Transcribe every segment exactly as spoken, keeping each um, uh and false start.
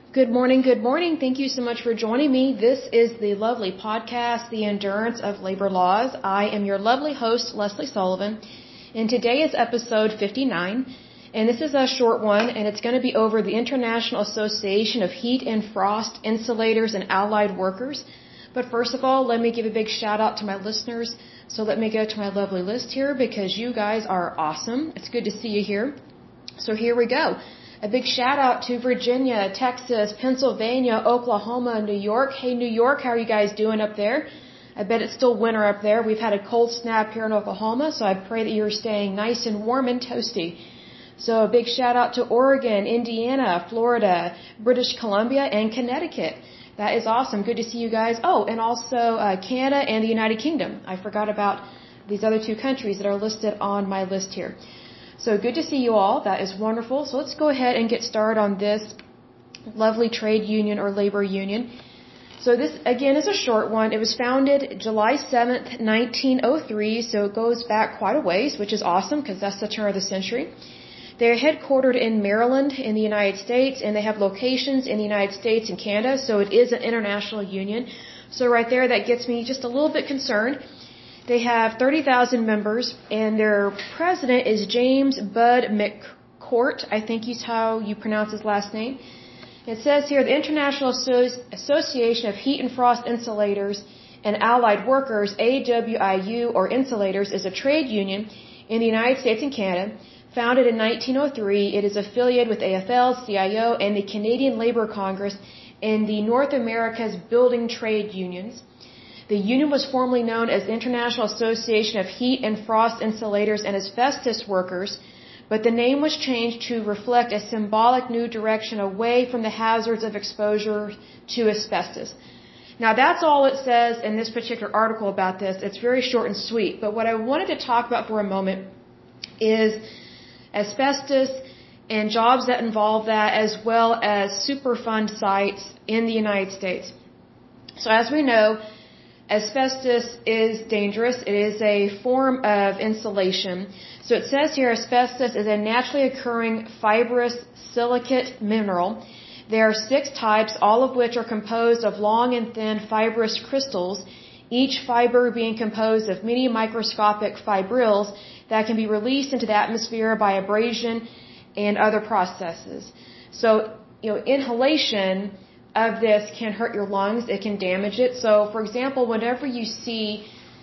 Good morning, good morning. Thank you so much for joining me. This is the lovely podcast, The Endurance of Labor Laws. I am your lovely host, Leslie Sullivan, and today is episode fifty-nine, and this is a short one, and it's going to be over the International Association of Heat and Frost Insulators and Allied Workers. But first of all, let me give a big shout out to my listeners. So let me go to my lovely list here because you guys are awesome. It's good to see you here. So here we go. A big shout out to Virginia, Texas, Pennsylvania, Oklahoma, New York. Hey, New York, how are you guys doing up there? I bet it's still winter up there. We've had a cold snap here in Oklahoma, so I pray that you're staying nice and warm and toasty. So a big shout out to Oregon, Indiana, Florida, British Columbia, and Connecticut. That is awesome. Good to see you guys. Oh, and also uh, Canada and the United Kingdom. I forgot about these other two countries that are listed on my list here. So good to see you all. That is wonderful. So let's go ahead and get started on this lovely trade union or labor union. So this, again, is a short one. It was founded July seventh, nineteen oh three, so it goes back quite a ways, which is awesome because that's the turn of the century. They're headquartered in Maryland in the United States, and they have locations in the United States and Canada, so it is an international union. So right there, that gets me just a little bit concerned. They have thirty thousand members, and their president is James Bud McCourt. I think he's how you pronounce his last name. It says here, the International Association of Heat and Frost Insulators and Allied Workers, A W I U, or Insulators, is a trade union in the United States and Canada. Founded in nineteen oh three, it is affiliated with A F L, C I O, and the Canadian Labour Congress and the North America's Building Trade Unions. The union was formerly known as the International Association of Heat and Frost Insulators and Asbestos Workers, but the name was changed to reflect a symbolic new direction away from the hazards of exposure to asbestos. Now that's all it says in this particular article about this. It's very short and sweet, but what I wanted to talk about for a moment is asbestos and jobs that involve that, as well as Superfund sites in the United States. So as we know, asbestos is dangerous. It is a form of insulation. So it says here, asbestos is a naturally occurring fibrous silicate mineral. There are six types, all of which are composed of long and thin fibrous crystals, each fiber being composed of many microscopic fibrils that can be released into the atmosphere by abrasion and other processes. So, you know, inhalation of this can hurt your lungs. It can damage it. So, for example, whenever you see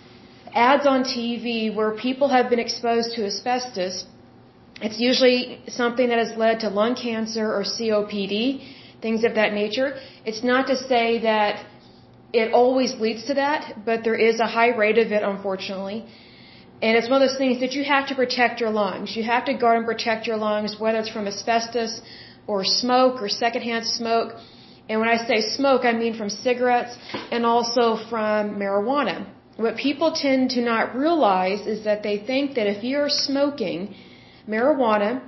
ads on T V where people have been exposed to asbestos, it's usually something that has led to lung cancer or C O P D, things of that nature. It's not to say that it always leads to that, but there is a high rate of it, unfortunately. And it's one of those things that you have to protect your lungs. You have to guard and protect your lungs, whether it's from asbestos or smoke or secondhand smoke. And when I say smoke, I mean from cigarettes and also from marijuana. What people tend to not realize is that they think that if you're smoking marijuana,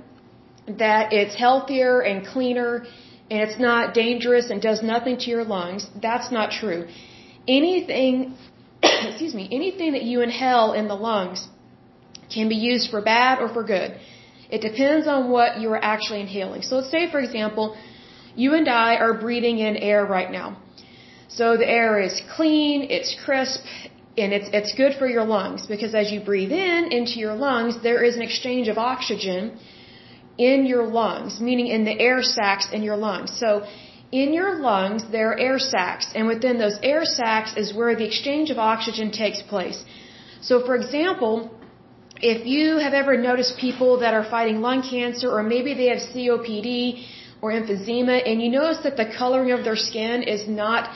that it's healthier and cleaner and it's not dangerous and does nothing to your lungs. That's not true. Anything, excuse me, anything that you inhale in the lungs can be used for bad or for good. It depends on what you are actually inhaling. So let's say, for example, you and I are breathing in air right now. So the air is clean, it's crisp, and it's it's good for your lungs because as you breathe in into your lungs, there is an exchange of oxygen in your lungs, meaning in the air sacs in your lungs. So in your lungs, there are air sacs, and within those air sacs is where the exchange of oxygen takes place. So for example, if you have ever noticed people that are fighting lung cancer, or maybe they have C O P D or emphysema, and you notice that the coloring of their skin is not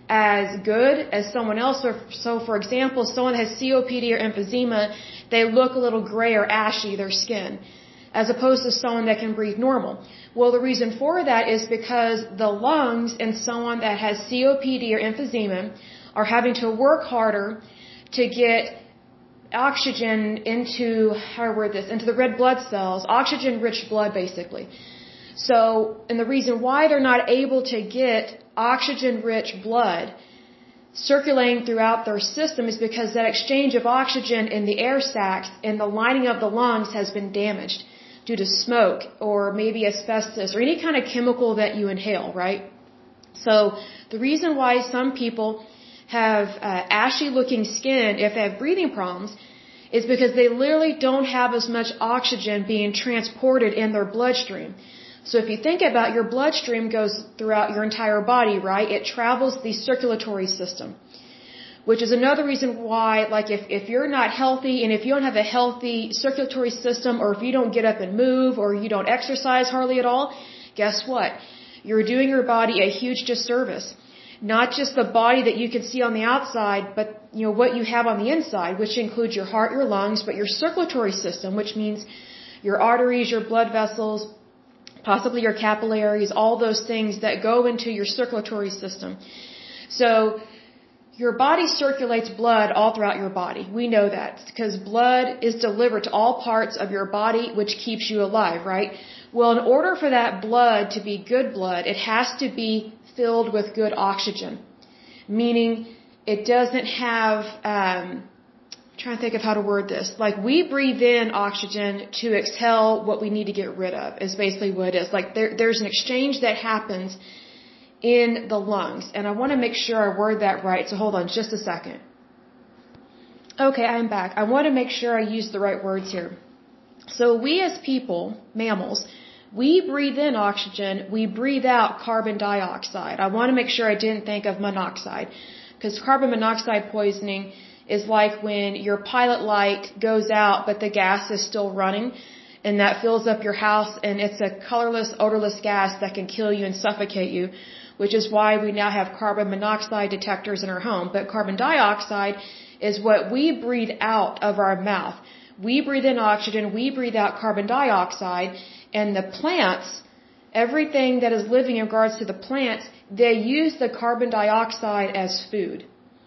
as good as someone else. So for example, someone has C O P D or emphysema, they look a little gray or ashy, their skin, as opposed to someone that can breathe normal. Well, the reason for that is because the lungs in someone that has C O P D or emphysema are having to work harder to get oxygen into, how do I word this, into the red blood cells, oxygen-rich blood, basically. So, and the reason why they're not able to get oxygen-rich blood circulating throughout their system is because that exchange of oxygen in the air sacs and the lining of the lungs has been damaged. due to smoke or maybe asbestos or any kind of chemical that you inhale, right? So the reason why some people have uh, ashy looking skin if they have breathing problems is because they literally don't have as much oxygen being transported in their bloodstream. So if you think about your bloodstream goes throughout your entire body, right? It travels the circulatory system, which is another reason why, like if, if you're not healthy and if you don't have a healthy circulatory system, or if you don't get up and move, or you don't exercise hardly at all, guess what? You're doing your body a huge disservice. Not just the body that you can see on the outside, but you know what you have on the inside, which includes your heart, your lungs, but your circulatory system, which means your arteries, your blood vessels, possibly your capillaries, all those things that go into your circulatory system. So your body circulates blood all throughout your body. We know that because blood is delivered to all parts of your body, which keeps you alive, right? Well, in order for that blood to be good blood, it has to be filled with good oxygen, meaning it doesn't have, um, I'm trying to think of how to word this. Like we breathe in oxygen to exhale what we need to get rid of is basically what it is. Like there, there's an exchange that happens in the lungs. And I want to make sure I word that right. So hold on just a second. Okay, I'm back. I want to make sure I use the right words here. So we as people, mammals, we breathe in oxygen, we breathe out carbon dioxide. I want to make sure I didn't think of monoxide, because carbon monoxide poisoning is like when your pilot light goes out but the gas is still running, and that fills up your house, and it's a colorless, odorless gas that can kill you and suffocate you, which is why we now have carbon monoxide detectors in our home. But carbon dioxide is what we breathe out of our mouth. We breathe in oxygen, we breathe out carbon dioxide, and the plants, everything that is living in regards to the plants, they use the carbon dioxide as food.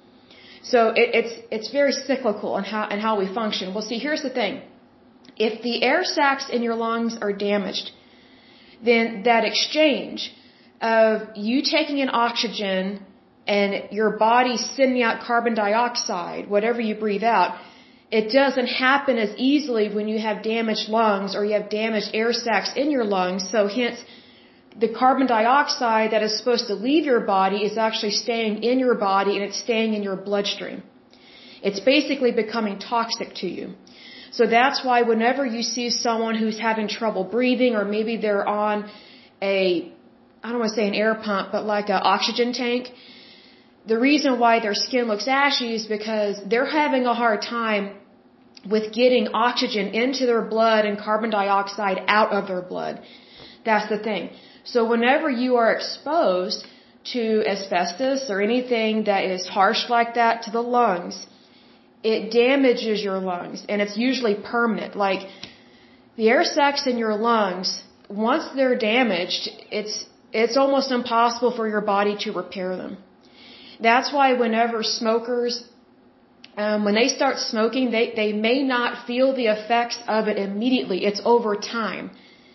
So it, it's it's very cyclical in how, in how we function. Well, see, here's the thing. If the air sacs in your lungs are damaged, then that exchange of you taking in oxygen and your body sending out carbon dioxide, whatever you breathe out, it doesn't happen as easily when you have damaged lungs or you have damaged air sacs in your lungs. So hence, the carbon dioxide that is supposed to leave your body is actually staying in your body, and it's staying in your bloodstream. It's basically becoming toxic to you. So that's why whenever you see someone who's having trouble breathing, or maybe they're on a, I don't want to say an air pump, but like an oxygen tank, the reason why their skin looks ashy is because they're having a hard time with getting oxygen into their blood and carbon dioxide out of their blood. That's the thing. So whenever you are exposed to asbestos or anything that is harsh like that to the lungs, it damages your lungs, and it's usually permanent. Like the air sacs in your lungs, once they're damaged, it's it's almost impossible for your body to repair them. That's why whenever smokers, um, when they start smoking, they, they may not feel the effects of it immediately. It's over time.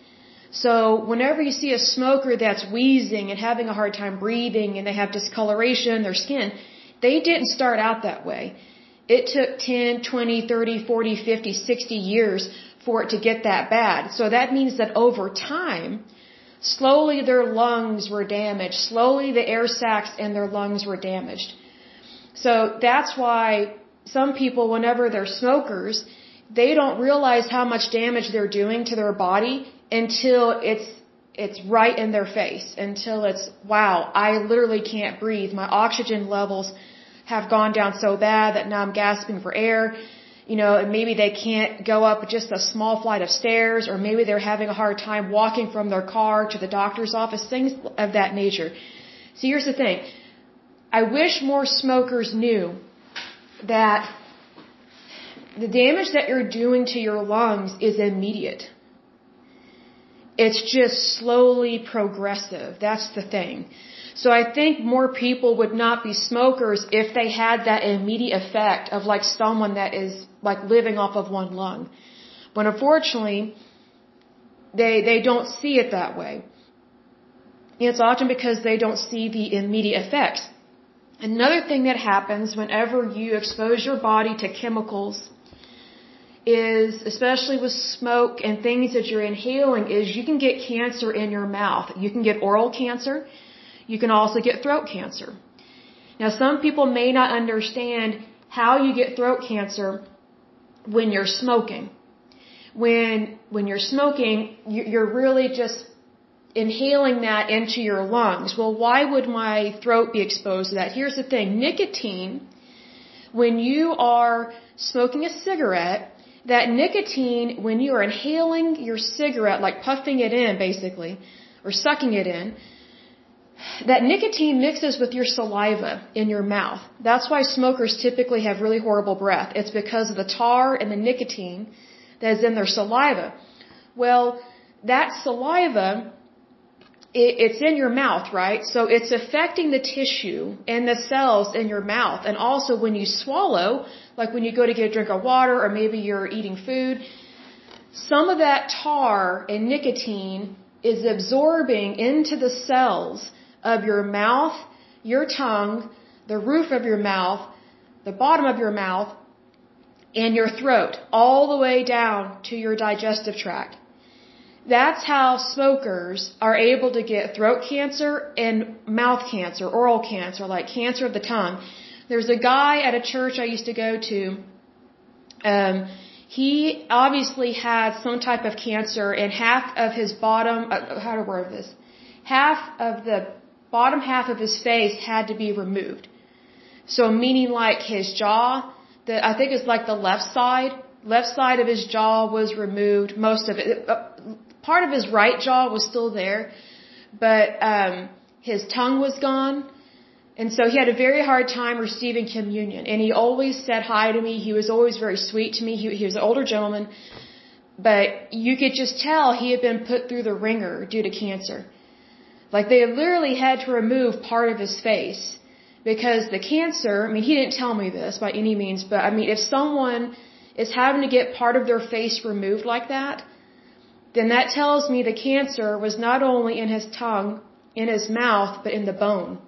So whenever you see a smoker that's wheezing and having a hard time breathing and they have discoloration in their skin, they didn't start out that way. It took ten, twenty, thirty, forty, fifty, sixty years for it to get that bad. So that means that over time, slowly their lungs were damaged. Slowly the air sacs in their lungs were damaged. So that's why some people, whenever they're smokers, they don't realize how much damage they're doing to their body until it's it's right in their face. Until it's, wow, I literally can't breathe. My oxygen levels have gone down so bad that now I'm gasping for air. You know, and maybe they can't go up just a small flight of stairs, or maybe they're having a hard time walking from their car to the doctor's office, things of that nature. So here's the thing. I wish more smokers knew that the damage that you're doing to your lungs is immediate. It's just slowly progressive. That's the thing. So I think more people would not be smokers if they had that immediate effect of like someone that is like living off of one lung. But unfortunately, they they don't see it that way. And it's often because they don't see the immediate effects. Another thing that happens whenever you expose your body to chemicals is, especially with smoke and things that you're inhaling, is you can get cancer in your mouth. You can get oral cancer. You can also get throat cancer. Now, some people may not understand how you get throat cancer when you're smoking. When, when you're smoking, you're really just inhaling that into your lungs. Well, why would my throat be exposed to that? Here's the thing. Nicotine, when you are smoking a cigarette, that nicotine, when you are inhaling your cigarette, like puffing it in basically, or sucking it in, that nicotine mixes with your saliva in your mouth. That's why smokers typically have really horrible breath. It's because of the tar and the nicotine that is in their saliva. Well, that saliva, it's in your mouth, right? So it's affecting the tissue and the cells in your mouth. And also when you swallow, like when you go to get a drink of water or maybe you're eating food, some of that tar and nicotine is absorbing into the cells of your mouth, your tongue, the roof of your mouth, the bottom of your mouth, and your throat, all the way down to your digestive tract. That's how smokers are able to get throat cancer and mouth cancer, oral cancer, like cancer of the tongue. There's a guy at a church I used to go to. Um, he obviously had some type of cancer, and half of his bottom, uh, how to word this, half of the bottom half of his face had to be removed. So meaning like his jaw, the, I think it's like the left side, left side of his jaw was removed, most of it. Uh, part of his right jaw was still there, but um, his tongue was gone. And so he had a very hard time receiving communion. And he always said hi to me. He was always very sweet to me. He, he was an older gentleman. But you could just tell he had been put through the ringer due to cancer. Like they literally had to remove part of his face. Because the cancer, I mean, he didn't tell me this by any means, but I mean, if someone is having to get part of their face removed like that, then that tells me the cancer was not only in his tongue, in his mouth, but in the bone,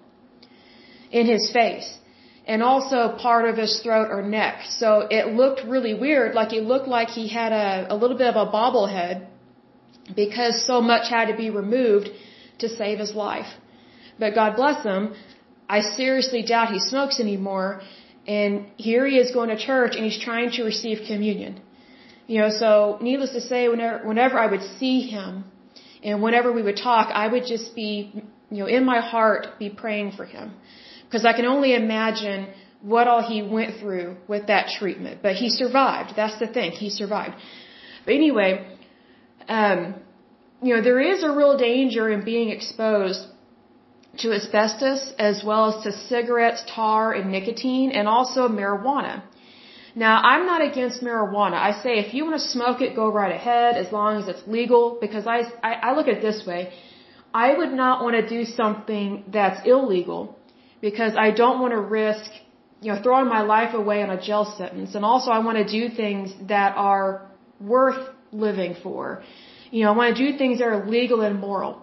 in his face, and also part of his throat or neck. So it looked really weird, like it looked like he had a, a little bit of a bobblehead because so much had to be removed to save his life. But God bless him, I seriously doubt he smokes anymore, and here he is going to church and he's trying to receive communion. You know, so needless to say, whenever, whenever I would see him and whenever we would talk, I would just be, you know, in my heart, be praying for him. Because I can only imagine what all he went through with that treatment. But he survived. That's the thing. He survived. But anyway, um, you know, there is a real danger in being exposed to asbestos as well as to cigarettes, tar, and nicotine, and also marijuana. Now, I'm not against marijuana. I say if you want to smoke it, go right ahead as long as it's legal, because I, I, I look at it this way. I would not want to do something that's illegal because I don't want to risk, you know, throwing my life away on a jail sentence. And also I want to do things that are worth living for. You know, I want to do things that are legal and moral.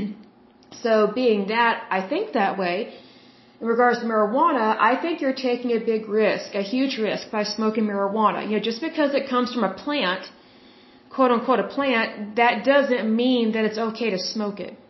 So being that, I think that way, in regards to marijuana, I think you're taking a big risk, a huge risk by smoking marijuana. You know, just because it comes from a plant, quote unquote a plant, that doesn't mean that it's okay to smoke it.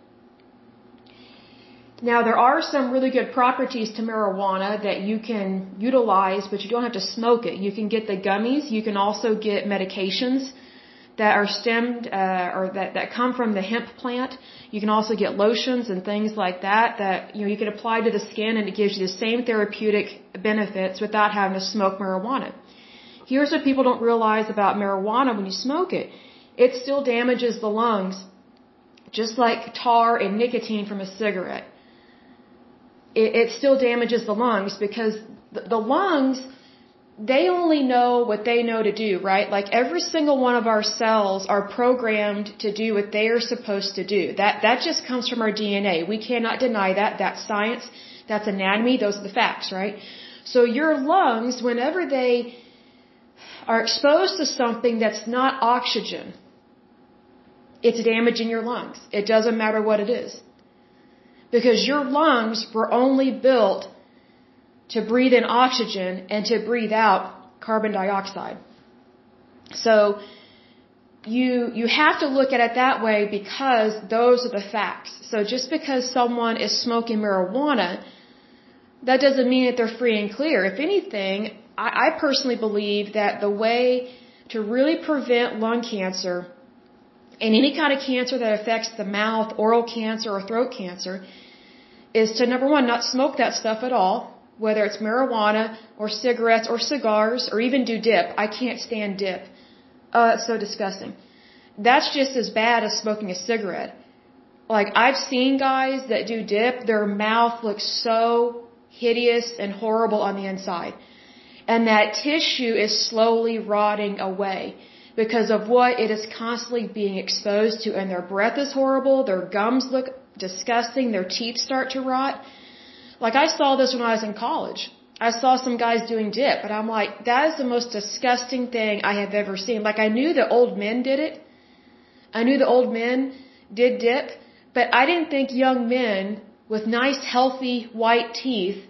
Now, there are some really good properties to marijuana that you can utilize, but you don't have to smoke it. You can get the gummies. You can also get medications that are stemmed uh, or that, that come from the hemp plant. You can also get lotions and things like that that you know you can apply to the skin, and it gives you the same therapeutic benefits without having to smoke marijuana. Here's what people don't realize about marijuana when you smoke it. It still damages the lungs, just like tar and nicotine from a cigarette. It, it still damages the lungs because the, the lungs, they only know what they know to do, right? Like every single one of our cells are programmed to do what they are supposed to do. That, that just comes from our D N A. We cannot deny that. That's science. That's anatomy. Those are the facts, right? So your lungs, whenever they are exposed to something that's not oxygen, it's damaging your lungs. It doesn't matter what it is. Because your lungs were only built to breathe in oxygen and to breathe out carbon dioxide. So you you have to look at it that way because those are the facts. So just because someone is smoking marijuana, that doesn't mean that they're free and clear. If anything, I, I personally believe that the way to really prevent lung cancer and any kind of cancer that affects the mouth, oral cancer, or throat cancer is to, number one, not smoke that stuff at all, whether it's marijuana or cigarettes or cigars or even do dip. I can't stand dip. Oh, it's so disgusting. That's just as bad as smoking a cigarette. Like, I've seen guys that do dip, their mouth looks so hideous and horrible on the inside. And that tissue is slowly rotting away because of what it is constantly being exposed to. And their breath is horrible, their gums look disgusting, their teeth start to rot. Like, I saw this when I was in college. I saw some guys doing dip, and I'm like, that is the most disgusting thing I have ever seen. Like, I knew that old men did it. I knew the old men did dip, but I didn't think young men with nice, healthy, white teeth,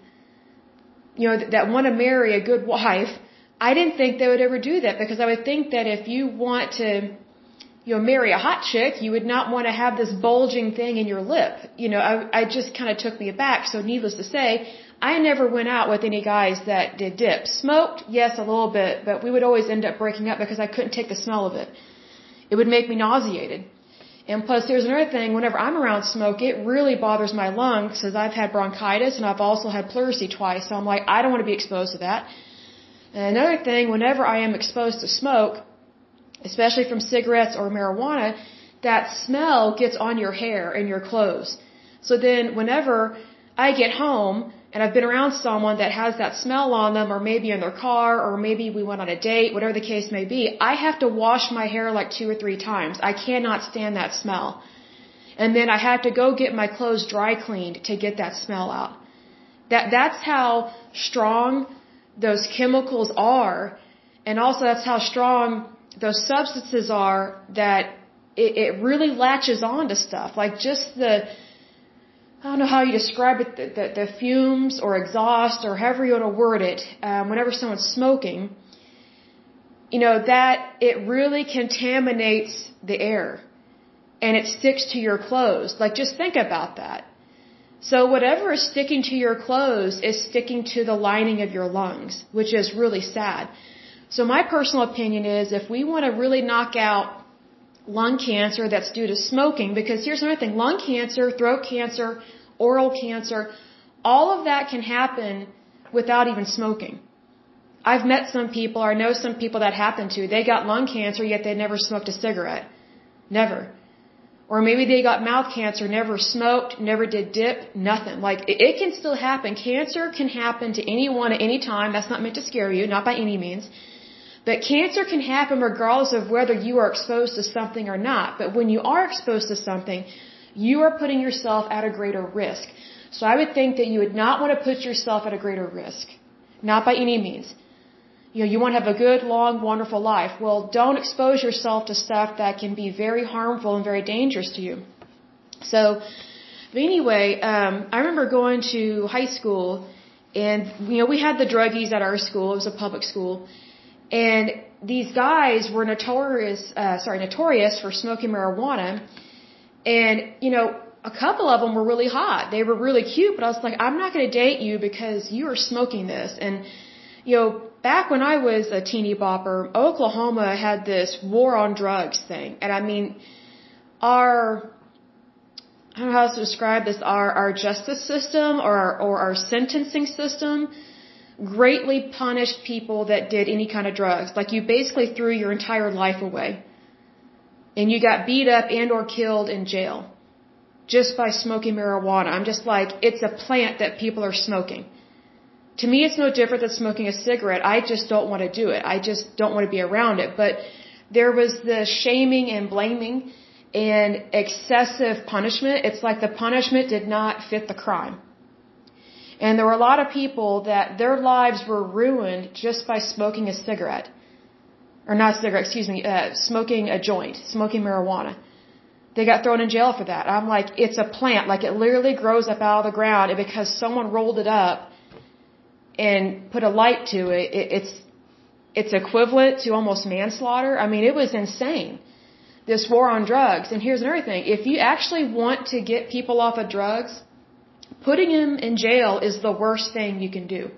you know, that, that want to marry a good wife, I didn't think they would ever do that, because I would think that if you want to, you know, marry a hot chick, you would not want to have this bulging thing in your lip. You know, I, I just kind of took me aback. So needless to say, I never went out with any guys that did dip. Smoked, yes, a little bit, but we would always end up breaking up because I couldn't take the smell of it. It would make me nauseated. And plus, here's another thing, whenever I'm around smoke, it really bothers my lungs because I've had bronchitis and I've also had pleurisy twice. So I'm like, I don't want to be exposed to that. And another thing, whenever I am exposed to smoke, especially from cigarettes or marijuana, that smell gets on your hair and your clothes. So then whenever I get home and I've been around someone that has that smell on them, or maybe in their car, or maybe we went on a date, whatever the case may be, I have to wash my hair like two or three times. I cannot stand that smell. And then I have to go get my clothes dry cleaned to get that smell out. That that's how strong those chemicals are, and also that's how strong those substances are, that it, it really latches on to stuff. Like just the, I don't know how you describe it, the, the, the fumes or exhaust or however you want to word it, um, whenever someone's smoking, you know, that it really contaminates the air and it sticks to your clothes. Like, just think about that. So whatever is sticking to your clothes is sticking to the lining of your lungs, which is really sad. So my personal opinion is, if we want to really knock out lung cancer that's due to smoking, because here's another thing, lung cancer, throat cancer, oral cancer, all of that can happen without even smoking. I've met some people, or I know some people that happened to, they got lung cancer, yet they never smoked a cigarette. Never. Or maybe they got mouth cancer, never smoked, never did dip, nothing. Like, it, it can still happen. Cancer can happen to anyone at any time. That's not meant to scare you, not by any means. But cancer can happen regardless of whether you are exposed to something or not. But when you are exposed to something, you are putting yourself at a greater risk. So I would think that you would not want to put yourself at a greater risk. Not by any means. You know, you want to have a good, long, wonderful life. Well, don't expose yourself to stuff that can be very harmful and very dangerous to you. So, but anyway, um, I remember going to high school, and, you know, we had the druggies at our school. It was a public school. And these guys were notorious, uh, sorry, notorious for smoking marijuana. And, you know, a couple of them were really hot. They were really cute, but I was like, I'm not going to date you because you are smoking this. And, you know, back when I was a teeny bopper, Oklahoma had this war on drugs thing. And I mean, our, I don't know how else to describe this, our, our justice system or our, or our sentencing system greatly punished people that did any kind of drugs. Like, you basically threw your entire life away. And you got beat up and or killed in jail just by smoking marijuana. I'm just like, it's a plant that people are smoking. To me, it's no different than smoking a cigarette. I just don't want to do it. I just don't want to be around it. But there was the shaming and blaming and excessive punishment. It's like the punishment did not fit the crime. And there were a lot of people that their lives were ruined just by smoking a cigarette. Or not a cigarette, excuse me, uh, smoking a joint, smoking marijuana. They got thrown in jail for that. I'm like, it's a plant. Like, it literally grows up out of the ground, and because someone rolled it up and put a light to it, it it's it's equivalent to almost manslaughter. I mean, it was insane, this war on drugs. And here's another thing. If you actually want to get people off of drugs, putting them in jail is the worst thing you can do.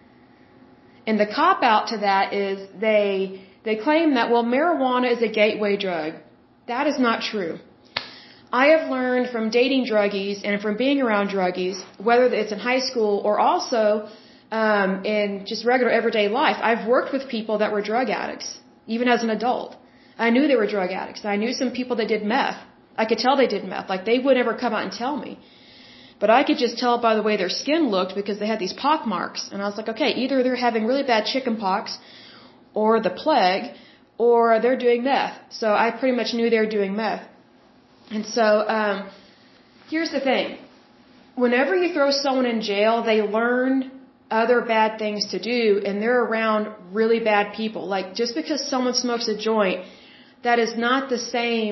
And the cop-out to that is they they claim that, well, marijuana is a gateway drug. That is not true. I have learned from dating druggies and from being around druggies, whether it's in high school or also um, in just regular everyday life, I've worked with people that were drug addicts, even as an adult. I knew they were drug addicts. I knew some people that did meth. I could tell they did meth. Like, they would never come out and tell me. But I could just tell by the way their skin looked because they had these pock marks. And I was like, okay, either they're having really bad chicken pox or the plague, or they're doing meth. So I pretty much knew they were doing meth. And so, um, here's the thing. Whenever you throw someone in jail, they learn other bad things to do, and they're around really bad people. Like, just because someone smokes a joint, that is not the same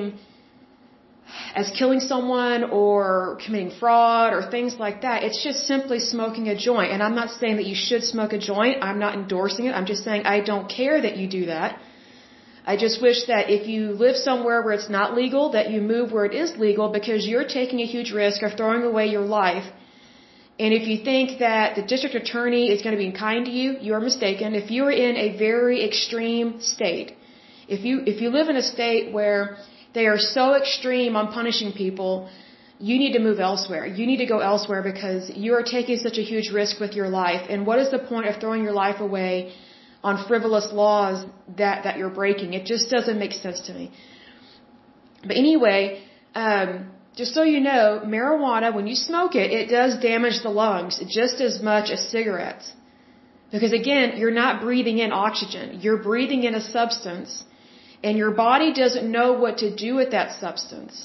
as killing someone or committing fraud or things like that. It's just simply smoking a joint. And I'm not saying that you should smoke a joint. I'm not endorsing it. I'm just saying I don't care that you do that. I just wish that if you live somewhere where it's not legal, that you move where it is legal, because you're taking a huge risk of throwing away your life. And if you think that the district attorney is going to be kind to you, you are mistaken. If you are in a very extreme state, if you if you live in a state where they are so extreme on punishing people, you need to move elsewhere. You need to go elsewhere because you are taking such a huge risk with your life. And what is the point of throwing your life away on frivolous laws that, that you're breaking? It just doesn't make sense to me. But anyway, um, just so you know, marijuana, when you smoke it, it does damage the lungs just as much as cigarettes. Because again, you're not breathing in oxygen. You're breathing in a substance. And your body doesn't know what to do with that substance.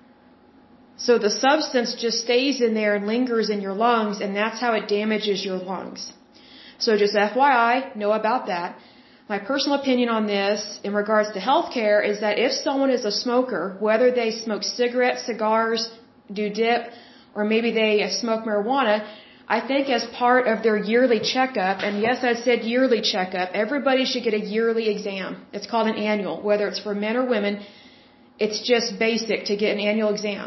So the substance just stays in there and lingers in your lungs, and that's how it damages your lungs. So just F Y I, know about that. My personal opinion on this in regards to healthcare is that if someone is a smoker, whether they smoke cigarettes, cigars, do dip, or maybe they smoke marijuana, I think as part of their yearly checkup, and yes, I said yearly checkup, everybody should get a yearly exam. It's called an annual, whether it's for men or women. It's just basic to get an annual exam.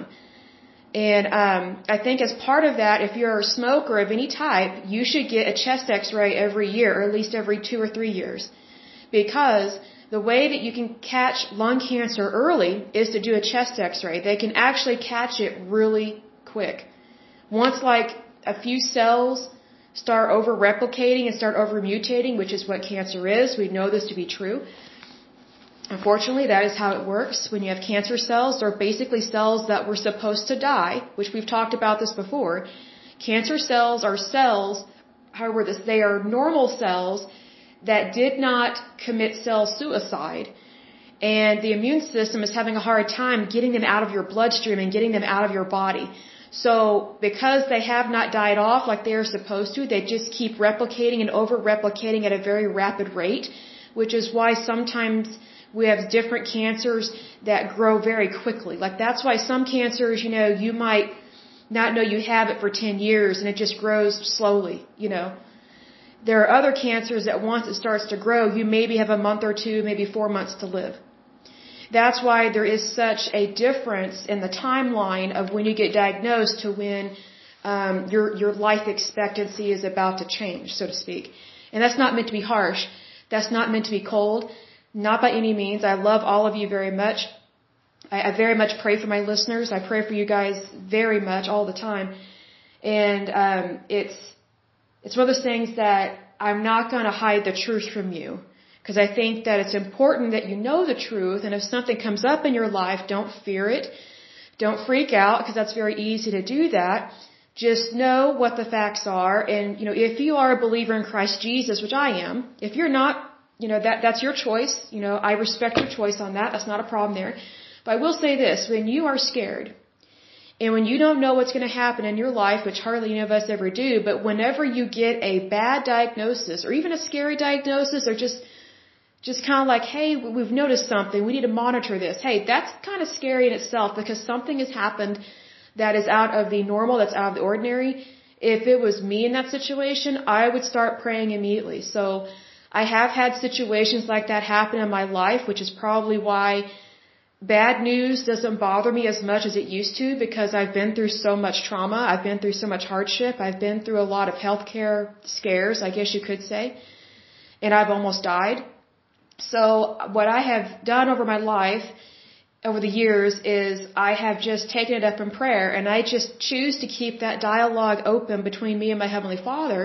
And um, I think as part of that, if you're a smoker of any type, you should get a chest x-ray every year, or at least every two or three years. Because the way that you can catch lung cancer early is to do a chest x-ray. They can actually catch it really quick. Once, like, a few cells start over-replicating and start over-mutating, which is what cancer is. We know this to be true. Unfortunately, that is how it works. When you have cancer cells, they're basically cells that were supposed to die, which we've talked about this before. Cancer cells are cells, however, this, they are normal cells that did not commit cell suicide. And the immune system is having a hard time getting them out of your bloodstream and getting them out of your body. So because they have not died off like they are supposed to, they just keep replicating and over-replicating at a very rapid rate, which is why sometimes we have different cancers that grow very quickly. Like, that's why some cancers, you know, you might not know you have it for ten years and it just grows slowly, you know. There are other cancers that once it starts to grow, you maybe have a month or two, maybe four months to live. That's why there is such a difference in the timeline of when you get diagnosed to when um, your your life expectancy is about to change, so to speak. And that's not meant to be harsh. That's not meant to be cold. Not by any means. I love all of you very much. I, I very much pray for my listeners. I pray for you guys very much all the time. And um, it's it's one of those things that I'm not going to hide the truth from you. Because I think that it's important that you know the truth, and if something comes up in your life, don't fear it. Don't freak out, because that's very easy to do that. Just know what the facts are, and, you know, if you are a believer in Christ Jesus, which I am, if you're not, you know, that that's your choice. You know, I respect your choice on that. That's not a problem there. But I will say this, when you are scared, and when you don't know what's going to happen in your life, which hardly any of us ever do, but whenever you get a bad diagnosis, or even a scary diagnosis, or just Just kind of like, hey, we've noticed something. We need to monitor this. Hey, that's kind of scary in itself because something has happened that is out of the normal, that's out of the ordinary. If it was me in that situation, I would start praying immediately. So I have had situations like that happen in my life, which is probably why bad news doesn't bother me as much as it used to, because I've been through so much trauma. I've been through so much hardship. I've been through a lot of healthcare scares, I guess you could say. And I've almost died. So what I have done over my life, over the years, is I have just taken it up in prayer, and I just choose to keep that dialogue open between me and my Heavenly Father,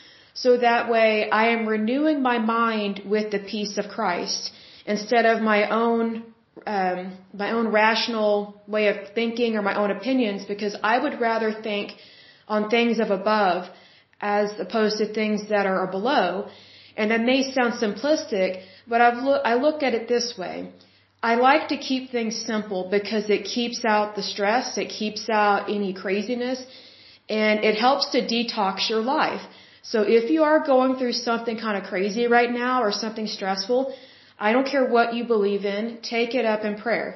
so that way I am renewing my mind with the peace of Christ instead of my own um, my own rational way of thinking or my own opinions, because I would rather think on things of above as opposed to things that are below. And that may sound simplistic, but I've lo- I look at it this way. I like to keep things simple because it keeps out the stress, it keeps out any craziness, and it helps to detox your life. So if you are going through something kind of crazy right now or something stressful, I don't care what you believe in, take it up in prayer.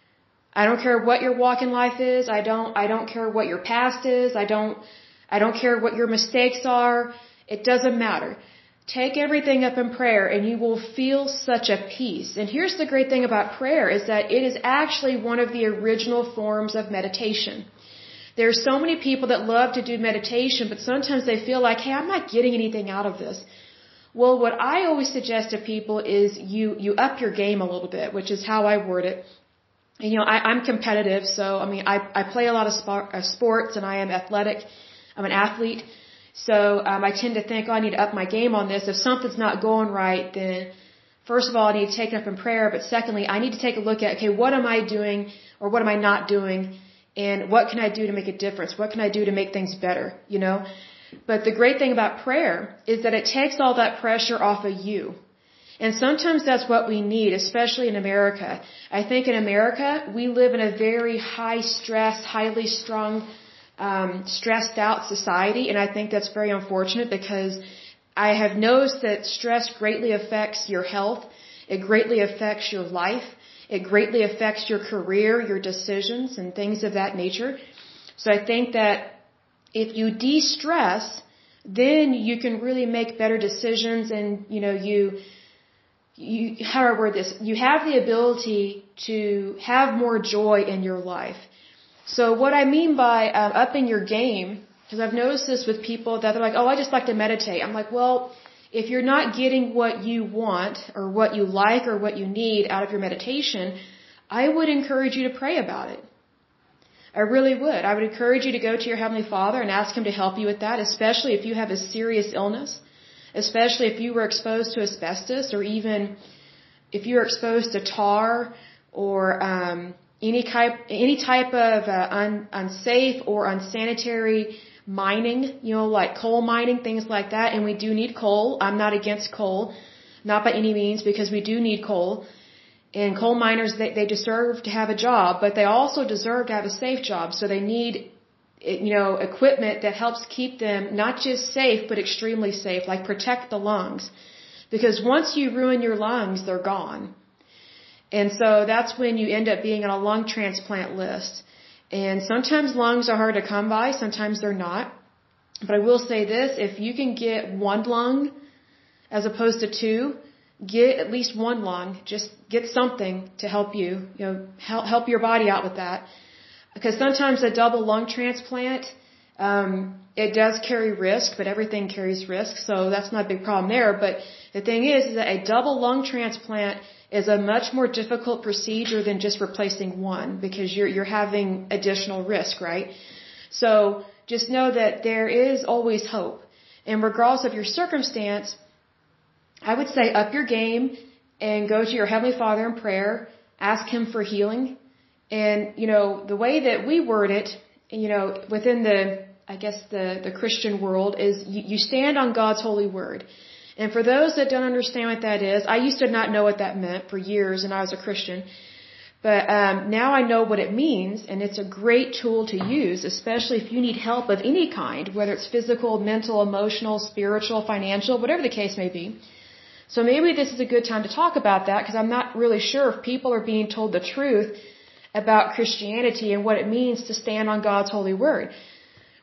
I don't care what your walk in life is, I don't I don't care what your past is, I don't I don't care what your mistakes are, it doesn't matter. Take everything up in prayer and you will feel such a peace. And here's the great thing about prayer is that it is actually one of the original forms of meditation. There are so many people that love to do meditation, but sometimes they feel like, hey, I'm not getting anything out of this. Well, what I always suggest to people is you, you up your game a little bit, which is how I word it. And, you know, I, I'm competitive, so, I mean, I, I play a lot of sport, uh, sports and I am athletic. I'm an athlete. So um, I tend to think, oh, I need to up my game on this. If something's not going right, then first of all, I need to take it up in prayer. But secondly, I need to take a look at, okay, what am I doing or what am I not doing? And what can I do to make a difference? What can I do to make things better? You know? But the great thing about prayer is that it takes all that pressure off of you. And sometimes that's what we need, especially in America. I think in America, we live in a very high stress, highly strung, um, stressed out society. And I think that's very unfortunate because I have noticed that stress greatly affects your health. It greatly affects your life. It greatly affects your career, your decisions, and things of that nature. So I think that if you de-stress, then you can really make better decisions, and, you know, you, you, how do I word this? You have the ability to have more joy in your life. So what I mean by uh, upping your game, because I've noticed this with people that they're like, oh, I just like to meditate. I'm like, well, if you're not getting what you want or what you like or what you need out of your meditation, I would encourage you to pray about it. I really would. I would encourage you to go to your Heavenly Father and ask Him to help you with that, especially if you have a serious illness, especially if you were exposed to asbestos, or even if you're exposed to tar or um, any type any type of uh, un, unsafe or unsanitary mining, you know, like coal mining, things like that. And we do need coal. I'm not against coal, not by any means, because we do need coal. And coal miners, they, they deserve to have a job, but they also deserve to have a safe job. So they need, you know, equipment that helps keep them not just safe, but extremely safe, like protect the lungs. Because once you ruin your lungs, they're gone. And so that's when you end up being on a lung transplant list. And sometimes lungs are hard to come by, sometimes they're not. But I will say this, if you can get one lung as opposed to two, get at least one lung. Just get something to help you, you know, help, help your body out with that. Because sometimes a double lung transplant, um, it does carry risk, but everything carries risk, so that's not a big problem there. But the thing is, is that a double lung transplant is a much more difficult procedure than just replacing one, because you're you're having additional risk, right? So just know that there is always hope. And regardless of your circumstance, I would say up your game and go to your Heavenly Father in prayer, ask Him for healing. And, you know, the way that we word it, you know, within the, I guess the, the Christian world is you, you stand on God's holy word. And for those that don't understand what that is, I used to not know what that meant for years, and I was a Christian. But um, now I know what it means, and it's a great tool to use, especially if you need help of any kind, whether it's physical, mental, emotional, spiritual, financial, whatever the case may be. So maybe this is a good time to talk about that, because I'm not really sure if people are being told the truth about Christianity and what it means to stand on God's holy word.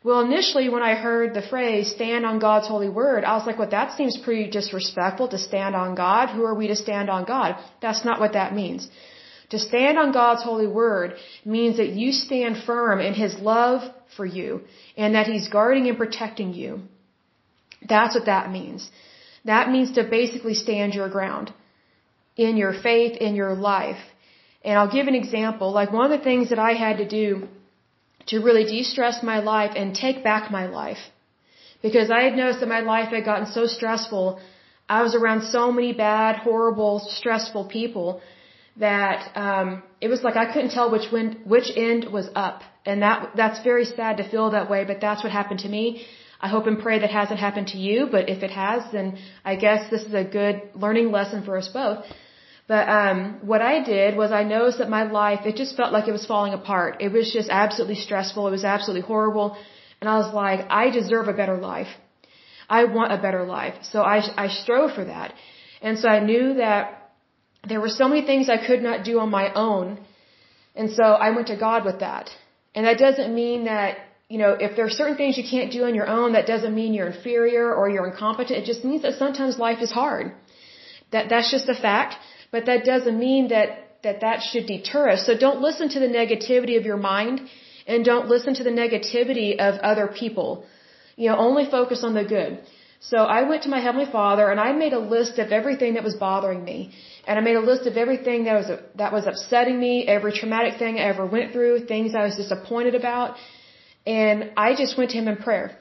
Well, initially when I heard the phrase, stand on God's holy word, I was like, well, that seems pretty disrespectful to stand on God. Who are we to stand on God? That's not what that means. To stand on God's holy word means that you stand firm in His love for you and that He's guarding and protecting you. That's what that means. That means to basically stand your ground in your faith, in your life. And I'll give an example. Like one of the things that I had to do to really de-stress my life and take back my life, because I had noticed that my life had gotten so stressful. I was around so many bad, horrible, stressful people that um, it was like I couldn't tell which wind, which end was up. And that that's very sad to feel that way, but that's what happened to me. I hope and pray that hasn't happened to you, but if it has, then I guess this is a good learning lesson for us both. But um, what I did was I noticed that my life, it just felt like it was falling apart. It was just absolutely stressful. It was absolutely horrible. And I was like, I deserve a better life. I want a better life. So I, I strove for that. And so I knew that there were so many things I could not do on my own. And so I went to God with that. And that doesn't mean that, you know, if there are certain things you can't do on your own, that doesn't mean you're inferior or you're incompetent. It just means that sometimes life is hard. That that's just a fact. But that doesn't mean that, that that should deter us. So don't listen to the negativity of your mind and don't listen to the negativity of other people. You know, only focus on the good. So I went to my Heavenly Father and I made a list of everything that was bothering me. And I made a list of everything that was, that was upsetting me, every traumatic thing I ever went through, things I was disappointed about. And I just went to Him in prayer.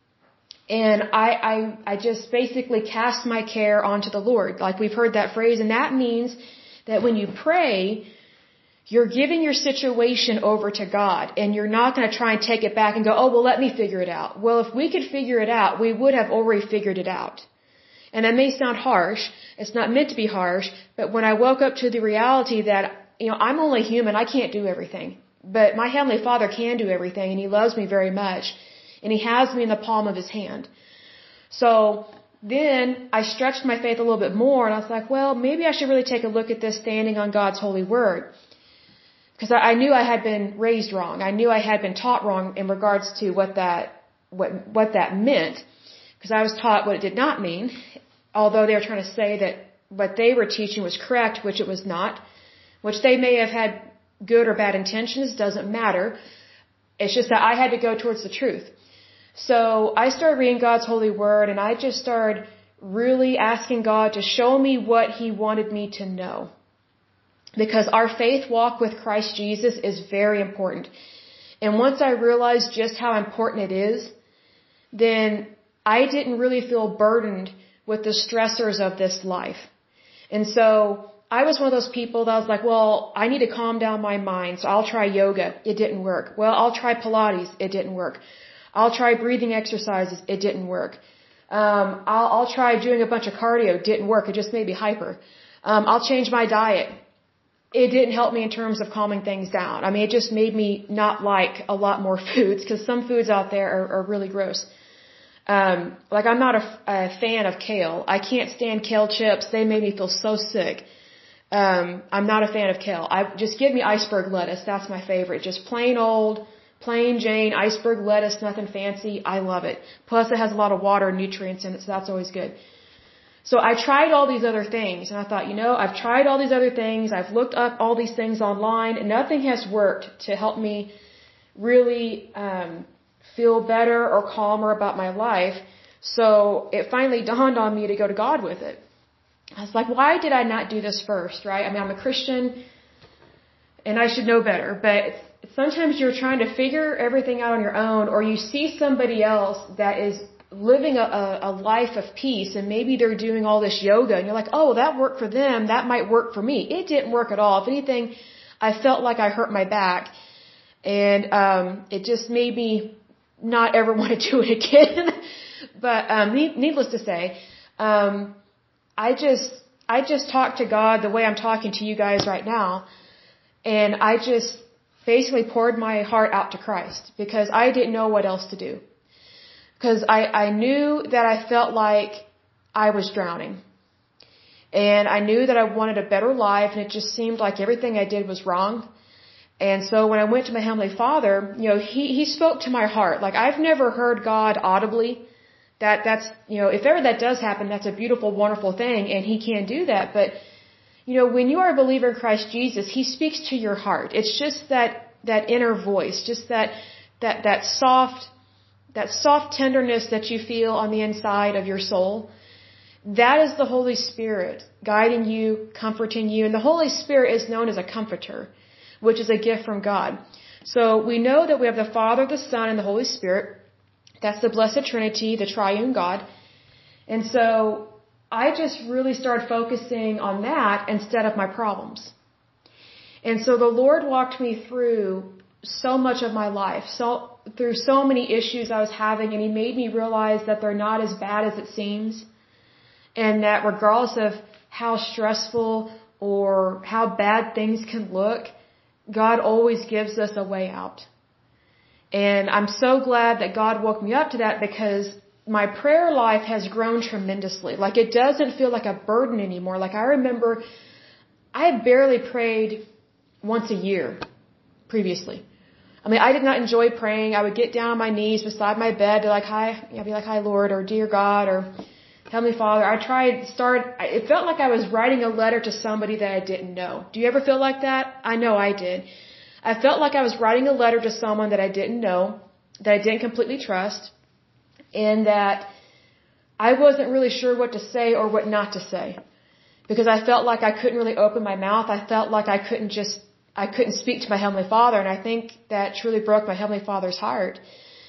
And I, I, I just basically cast my care onto the Lord. Like we've heard that phrase. And that means that when you pray, you're giving your situation over to God. And you're not going to try and take it back and go, oh, well, let me figure it out. Well, if we could figure it out, we would have already figured it out. And that may sound harsh. It's not meant to be harsh. But when I woke up to the reality that, you know, I'm only human. I can't do everything. But my Heavenly Father can do everything. And He loves me very much. And He has me in the palm of His hand. So then I stretched my faith a little bit more and I was like, well, maybe I should really take a look at this standing on God's holy word. Because I, I knew I had been raised wrong. I knew I had been taught wrong in regards to what that, what, what that meant. Because I was taught what it did not mean. Although they were trying to say that what they were teaching was correct, which it was not. Which they may have had good or bad intentions, doesn't matter. It's just that I had to go towards the truth. So I started reading God's holy word and I just started really asking God to show me what He wanted me to know. Because our faith walk with Christ Jesus is very important. And once I realized just how important it is, then I didn't really feel burdened with the stressors of this life. And so I was one of those people that was like, well, I need to calm down my mind, so I'll try yoga. It didn't work. Well, I'll try Pilates. It didn't work. I'll try breathing exercises. It didn't work. Um, I'll, I'll try doing a bunch of cardio. It didn't work. It just made me hyper. Um, I'll change my diet. It didn't help me in terms of calming things down. I mean, it just made me not like a lot more foods because some foods out there are, are really gross. Um, like I'm not a, a fan of kale. I can't stand kale chips. They made me feel so sick. Um, I'm not a fan of kale. I just give me iceberg lettuce. That's my favorite. Just plain old, plain Jane iceberg lettuce, nothing fancy. I love it. Plus it has a lot of water and nutrients in it, so that's always good. So I tried all these other things and I thought, you know, I've tried all these other things. I've looked up all these things online and nothing has worked to help me really, um, feel better or calmer about my life. So it finally dawned on me to go to God with it. I was like, why did I not do this first, right? I mean, I'm a Christian and I should know better, but sometimes you're trying to figure everything out on your own, or you see somebody else that is living a, a life of peace and maybe they're doing all this yoga and you're like, oh, that worked for them. That might work for me. It didn't work at all. If anything, I felt like I hurt my back and, um, it just made me not ever want to do it again. But, um, needless to say, um, I just, I just talked to God the way I'm talking to you guys right now. And I just basically poured my heart out to Christ because I didn't know what else to do. Because I, I knew that I felt like I was drowning. And I knew that I wanted a better life and it just seemed like everything I did was wrong. And so when I went to my Heavenly Father, you know, He, He spoke to my heart. Like, I've never heard God audibly. That, that's, you know, if ever that does happen, that's a beautiful, wonderful thing, and He can do that. But, you know, when you are a believer in Christ Jesus, He speaks to your heart. It's just that, that inner voice, just that, that, that soft, that soft tenderness that you feel on the inside of your soul. That is the Holy Spirit guiding you, comforting you. And the Holy Spirit is known as a comforter, which is a gift from God. So we know that we have the Father, the Son, and the Holy Spirit. That's the Blessed Trinity, the Triune God. And so I just really started focusing on that instead of my problems. And so the Lord walked me through so much of my life, so through so many issues I was having, and He made me realize that they're not as bad as it seems, and that regardless of how stressful or how bad things can look, God always gives us a way out. And I'm so glad that God woke me up to that, because my prayer life has grown tremendously. Like, it doesn't feel like a burden anymore. Like, I remember I had barely prayed once a year previously. I mean, I did not enjoy praying. I would get down on my knees beside my bed, be like, hi, I'd be like, hi, Lord, or dear God, or Heavenly Father. I tried, start, it felt like I was writing a letter to somebody that I didn't know. Do you ever feel like that? I know I did. I felt like I was writing a letter to someone that I didn't know, that I didn't completely trust, and that I wasn't really sure what to say or what not to say, because I felt like I couldn't really open my mouth. I felt like I couldn't just, I couldn't speak to my Heavenly Father, and I think that truly broke my Heavenly Father's heart.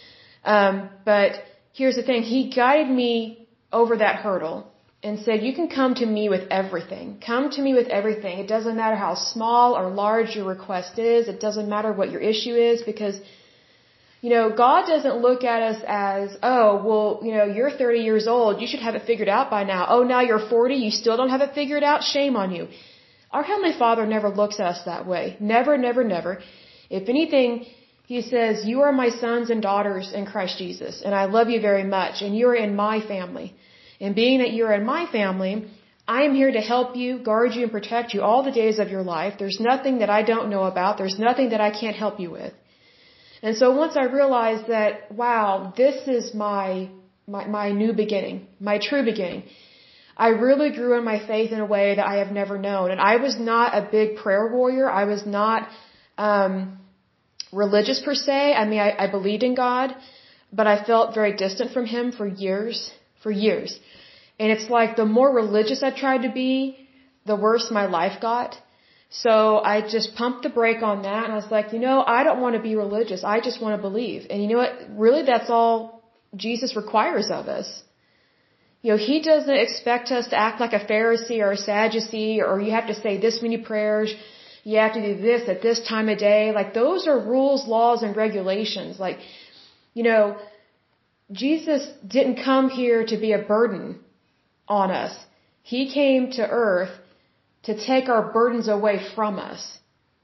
Um, but here's the thing. He guided me over that hurdle and said, you can come to me with everything. Come to me with everything. It doesn't matter how small or large your request is. It doesn't matter what your issue is, because, you know, God doesn't look at us as, oh, well, you know, you're thirty years old. You should have it figured out by now. Oh, now you're forty. You still don't have it figured out? Shame on you. Our Heavenly Father never looks at us that way. Never, never, never. If anything, He says, you are my sons and daughters in Christ Jesus, and I love you very much, and you are in my family. And being that you're in my family, I am here to help you, guard you, and protect you all the days of your life. There's nothing that I don't know about. There's nothing that I can't help you with. And so once I realized that, wow, this is my, my, my new beginning, my true beginning, I really grew in my faith in a way that I have never known. And I was not a big prayer warrior. I was not um, religious per se. I mean, I, I believed in God, but I felt very distant from Him for years. For years. And it's like the more religious I tried to be, the worse my life got. So I just pumped the brake on that, and I was like, you know, I don't want to be religious. I just want to believe. And you know what? Really, that's all Jesus requires of us. You know, He doesn't expect us to act like a Pharisee or a Sadducee, or you have to say this many prayers, you have to do this at this time of day. Like, those are rules, laws, and regulations. Like, you know, Jesus didn't come here to be a burden on us. He came to earth to take our burdens away from us.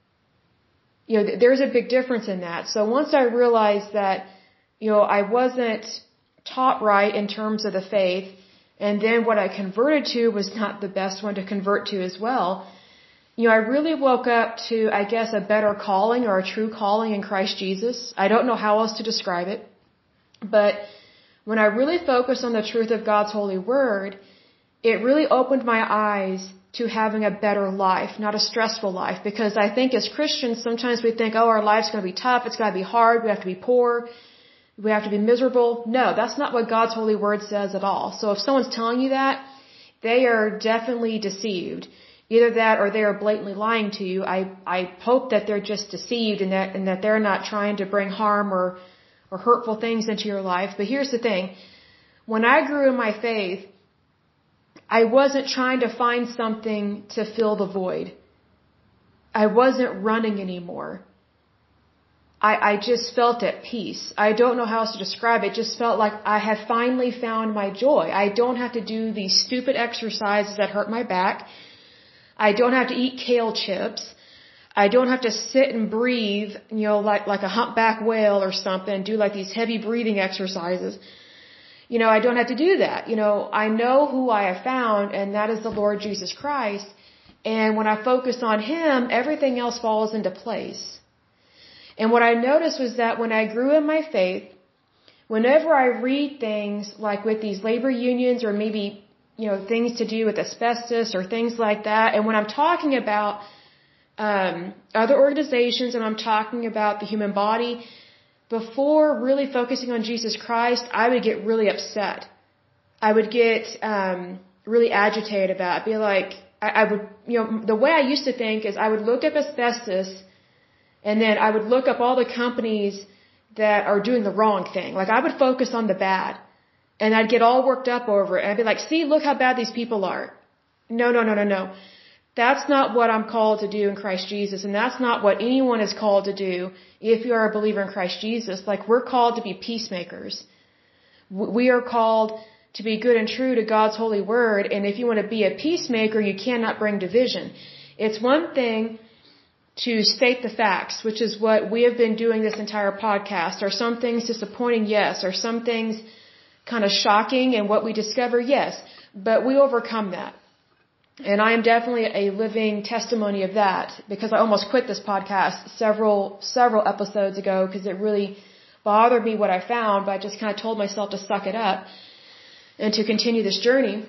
You know, there's a big difference in that. So once I realized that, you know, I wasn't taught right in terms of the faith, and then what I converted to was not the best one to convert to as well, you know, I really woke up to, I guess, a better calling, or a true calling in Christ Jesus. I don't know how else to describe it. But when I really focused on the truth of God's holy word, it really opened my eyes to having a better life, not a stressful life. Because I think as Christians, sometimes we think, oh, our life's going to be tough, it's going to be hard, we have to be poor, we have to be miserable. No, that's not what God's holy word says at all. So if someone's telling you that, they are definitely deceived. Either that or they are blatantly lying to you. I, I hope that they're just deceived, and that, and that they're not trying to bring harm or or hurtful things into your life. But here's the thing. When I grew in my faith, I wasn't trying to find something to fill the void. I wasn't running anymore. I, I just felt at peace. I don't know how else to describe it. It just felt like I had finally found my joy. I don't have to do these stupid exercises that hurt my back. I don't have to eat kale chips. I don't have to sit and breathe, you know, like, like a humpback whale or something, do like these heavy breathing exercises. You know, I don't have to do that. You know, I know who I have found, and that is the Lord Jesus Christ. And when I focus on Him, everything else falls into place. And what I noticed was that when I grew in my faith, whenever I read things like with these labor unions or maybe, you know, things to do with asbestos or things like that, and when I'm talking about um, other organizations and I'm talking about the human body, before really focusing on Jesus Christ, I would get really upset. I would get um, really agitated about it. I'd be like, I, I would, you know, the way I used to think is I would look up asbestos and then I would look up all the companies that are doing the wrong thing. Like I would focus on the bad and I'd get all worked up over it. And I'd be like, see, look how bad these people are. No, no, no, no, no. That's not what I'm called to do in Christ Jesus. And that's not what anyone is called to do if you are a believer in Christ Jesus. Like we're called to be peacemakers. We are called to be good and true to God's holy word. And if you want to be a peacemaker, you cannot bring division. It's one thing to state the facts, which is what we have been doing this entire podcast. Are some things disappointing? Yes. Are some things kind of shocking and what we discover? Yes. But we overcome that. And I am definitely a living testimony of that because I almost quit this podcast several, several episodes ago because it really bothered me what I found, but I just kind of told myself to suck it up and to continue this journey.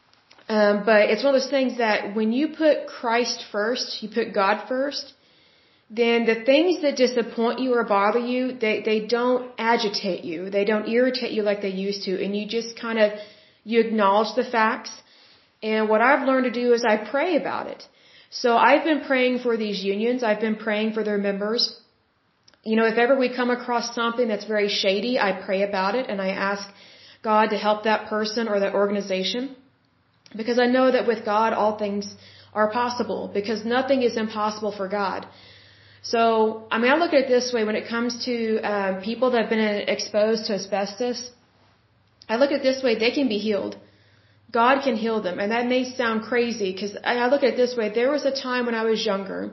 Um, but it's one of those things that when you put Christ first, you put God first, then the things that disappoint you or bother you, they, they don't agitate you. They don't irritate you like they used to. And you just kind of, you acknowledge the facts. And what I've learned to do is I pray about it. So I've been praying for these unions. I've been praying for their members. You know, if ever we come across something that's very shady, I pray about it and I ask God to help that person or that organization. Because I know that with God, all things are possible. Because nothing is impossible for God. So, I mean, I look at it this way when it comes to um, people that have been exposed to asbestos. I look at it this way, they can be healed. God can heal them. And that may sound crazy because I look at it this way. There was a time when I was younger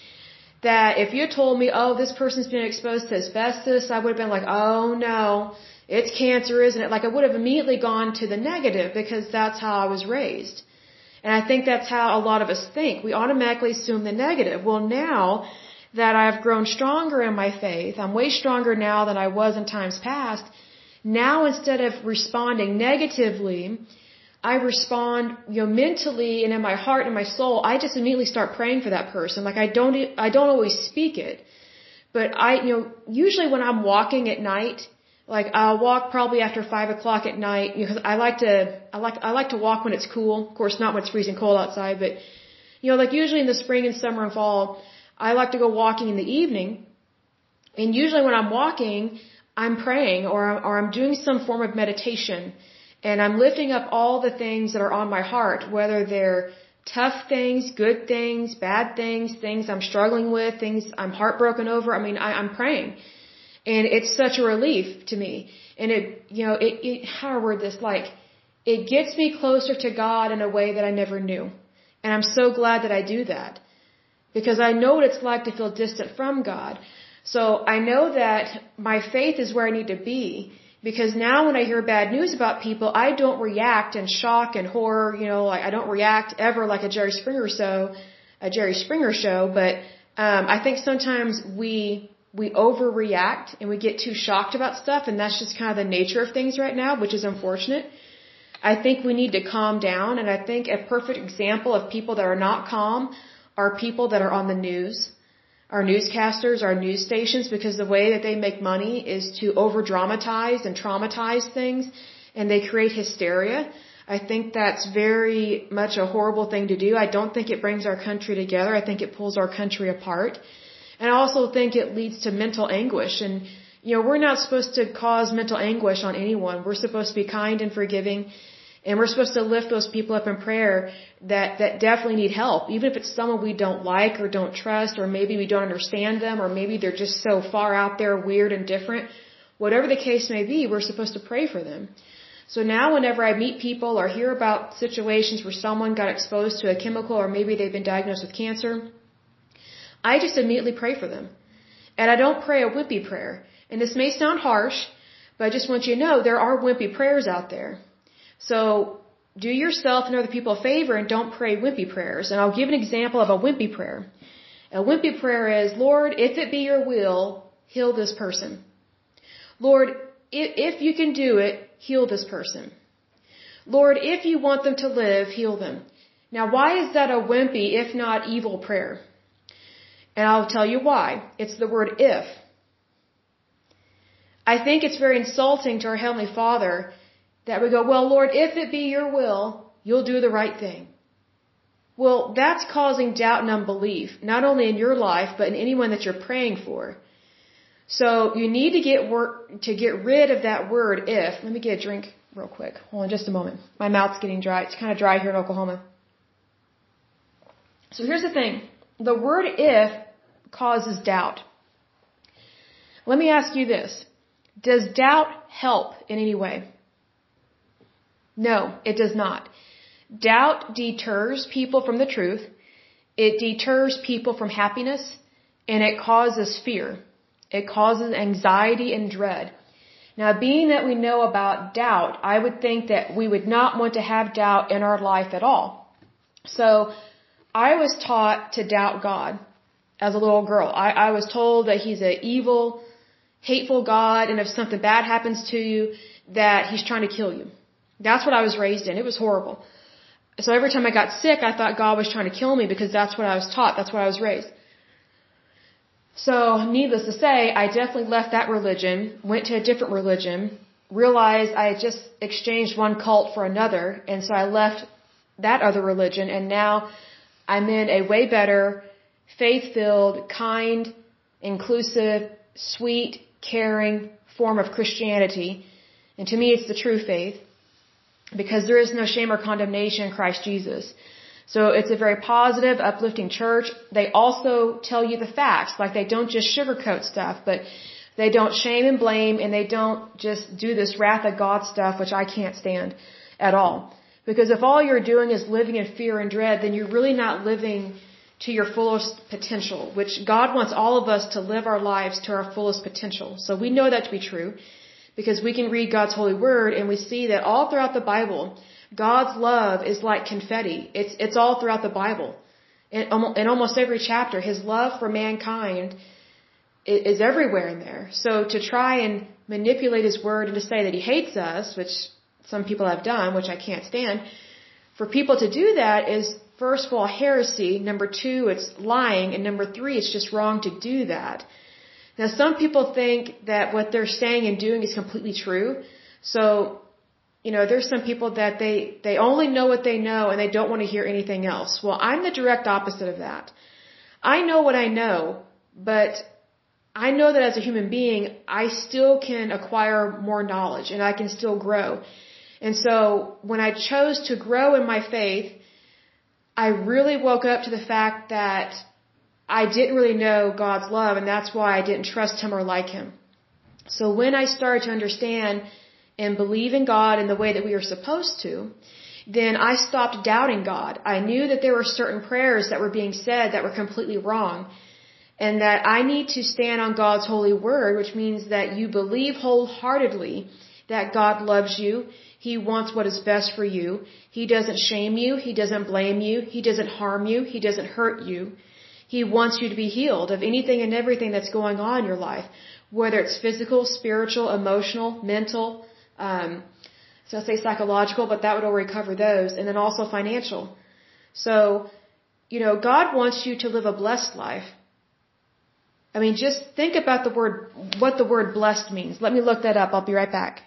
that if you had told me, oh, this person's been exposed to asbestos, I would have been like, oh, no. It's cancer, isn't it? Like I would have immediately gone to the negative because that's how I was raised. And I think that's how a lot of us think. We automatically assume the negative. Well, now that I've grown stronger in my faith, I'm way stronger now than I was in times past. Now instead of responding negatively, I respond, you know, mentally and in my heart and my soul, I just immediately start praying for that person. Like I don't, I don't always speak it. But I, you know, usually when I'm walking at night, like I'll walk probably after five o'clock at night because I like to I like I like to walk when it's cool. Of course, not when it's freezing cold outside, but you know, like usually in the spring and summer and fall, I like to go walking in the evening. And usually when I'm walking, I'm praying or I'm, or I'm doing some form of meditation, and I'm lifting up all the things that are on my heart, whether they're tough things, good things, bad things, things I'm struggling with, things I'm heartbroken over. I mean, I, I'm praying. And it's such a relief to me. And it, you know, it, it, how do I word this? Like, it gets me closer to God in a way that I never knew. And I'm so glad that I do that. Because I know what it's like to feel distant from God. So I know that my faith is where I need to be. Because now when I hear bad news about people, I don't react in shock and horror. You know, like I don't react ever like a Jerry Springer show, a Jerry Springer show. But um, I think sometimes we... we overreact and we get too shocked about stuff, and that's just kind of the nature of things right now, which is unfortunate. I think we need to calm down, and I think a perfect example of people that are not calm are people that are on the news, our newscasters, our news stations, because the way that they make money is to over-dramatize and traumatize things, and they create hysteria. I think that's very much a horrible thing to do. I don't think it brings our country together. I think it pulls our country apart. And I also think it leads to mental anguish. And, you know, we're not supposed to cause mental anguish on anyone. We're supposed to be kind and forgiving. And we're supposed to lift those people up in prayer that, that definitely need help. Even if it's someone we don't like or don't trust, or maybe we don't understand them, or maybe they're just so far out there, weird and different. Whatever the case may be, we're supposed to pray for them. So now whenever I meet people or hear about situations where someone got exposed to a chemical, or maybe they've been diagnosed with cancer, I just immediately pray for them. And I don't pray a wimpy prayer. And this may sound harsh, but I just want you to know there are wimpy prayers out there. So do yourself and other people a favor and don't pray wimpy prayers. And I'll give an example of a wimpy prayer. A wimpy prayer is, Lord, if it be your will, heal this person. Lord, if, if you can do it, heal this person. Lord, if you want them to live, heal them. Now, why is that a wimpy, if not evil prayer? And I'll tell you why. It's the word if. I think it's very insulting to our Heavenly Father that we go, well, Lord, if it be your will, you'll do the right thing. Well, that's causing doubt and unbelief, not only in your life, but in anyone that you're praying for. So you need to get work, to get rid of that word if. Let me get a drink real quick. Hold on just a moment. My mouth's getting dry. It's kind of dry here in Oklahoma. So here's the thing. The word if causes doubt. Let me ask you this. Does doubt help in any way? No, it does not. Doubt deters people from the truth. It deters people from happiness, and it causes fear. It causes anxiety and dread. Now, being that we know about doubt, I would think that we would not want to have doubt in our life at all. So, I was taught to doubt God as a little girl. I, I was told that He's an evil, hateful God, and if something bad happens to you, that He's trying to kill you. That's what I was raised in. It was horrible. So every time I got sick, I thought God was trying to kill me because that's what I was taught. That's what I was raised. So, needless to say, I definitely left that religion, went to a different religion, realized I had just exchanged one cult for another, and so I left that other religion, and now I'm in a way better, faith-filled, kind, inclusive, sweet, caring form of Christianity. And to me, it's the true faith, because there is no shame or condemnation in Christ Jesus. So it's a very positive, uplifting church. They also tell you the facts, like they don't just sugarcoat stuff, but they don't shame and blame, and they don't just do this wrath of God stuff, which I can't stand at all. Because if all you're doing is living in fear and dread, then you're really not living to your fullest potential, which God wants all of us to live our lives to our fullest potential. So we know that to be true, because we can read God's holy word and we see that all throughout the Bible, God's love is like confetti. It's it's all throughout the Bible. In, in almost every chapter, His love for mankind is, is everywhere in there. So to try and manipulate His word and to say that He hates us, which some people have done, which I can't stand, for people to do that is, first of all, heresy. Number two, it's lying. And number three, it's just wrong to do that. Now, some people think that what they're saying and doing is completely true. So, you know, there's some people that they, they only know what they know and they don't want to hear anything else. Well, I'm the direct opposite of that. I know what I know, but I know that as a human being, I still can acquire more knowledge and I can still grow. And so when I chose to grow in my faith, I really woke up to the fact that I didn't really know God's love, and that's why I didn't trust Him or like Him. So when I started to understand and believe in God in the way that we are supposed to, then I stopped doubting God. I knew that there were certain prayers that were being said that were completely wrong, and that I need to stand on God's holy word, which means that you believe wholeheartedly that God loves you. He wants what is best for you. He doesn't shame you. He doesn't blame you. He doesn't harm you. He doesn't hurt you. He wants you to be healed of anything and everything that's going on in your life, whether it's physical, spiritual, emotional, mental, um, so I say psychological, but that would already cover those, and then also financial. So, you know, God wants you to live a blessed life. I mean, just think about the word, what the word blessed means. Let me look that up. I'll be right back.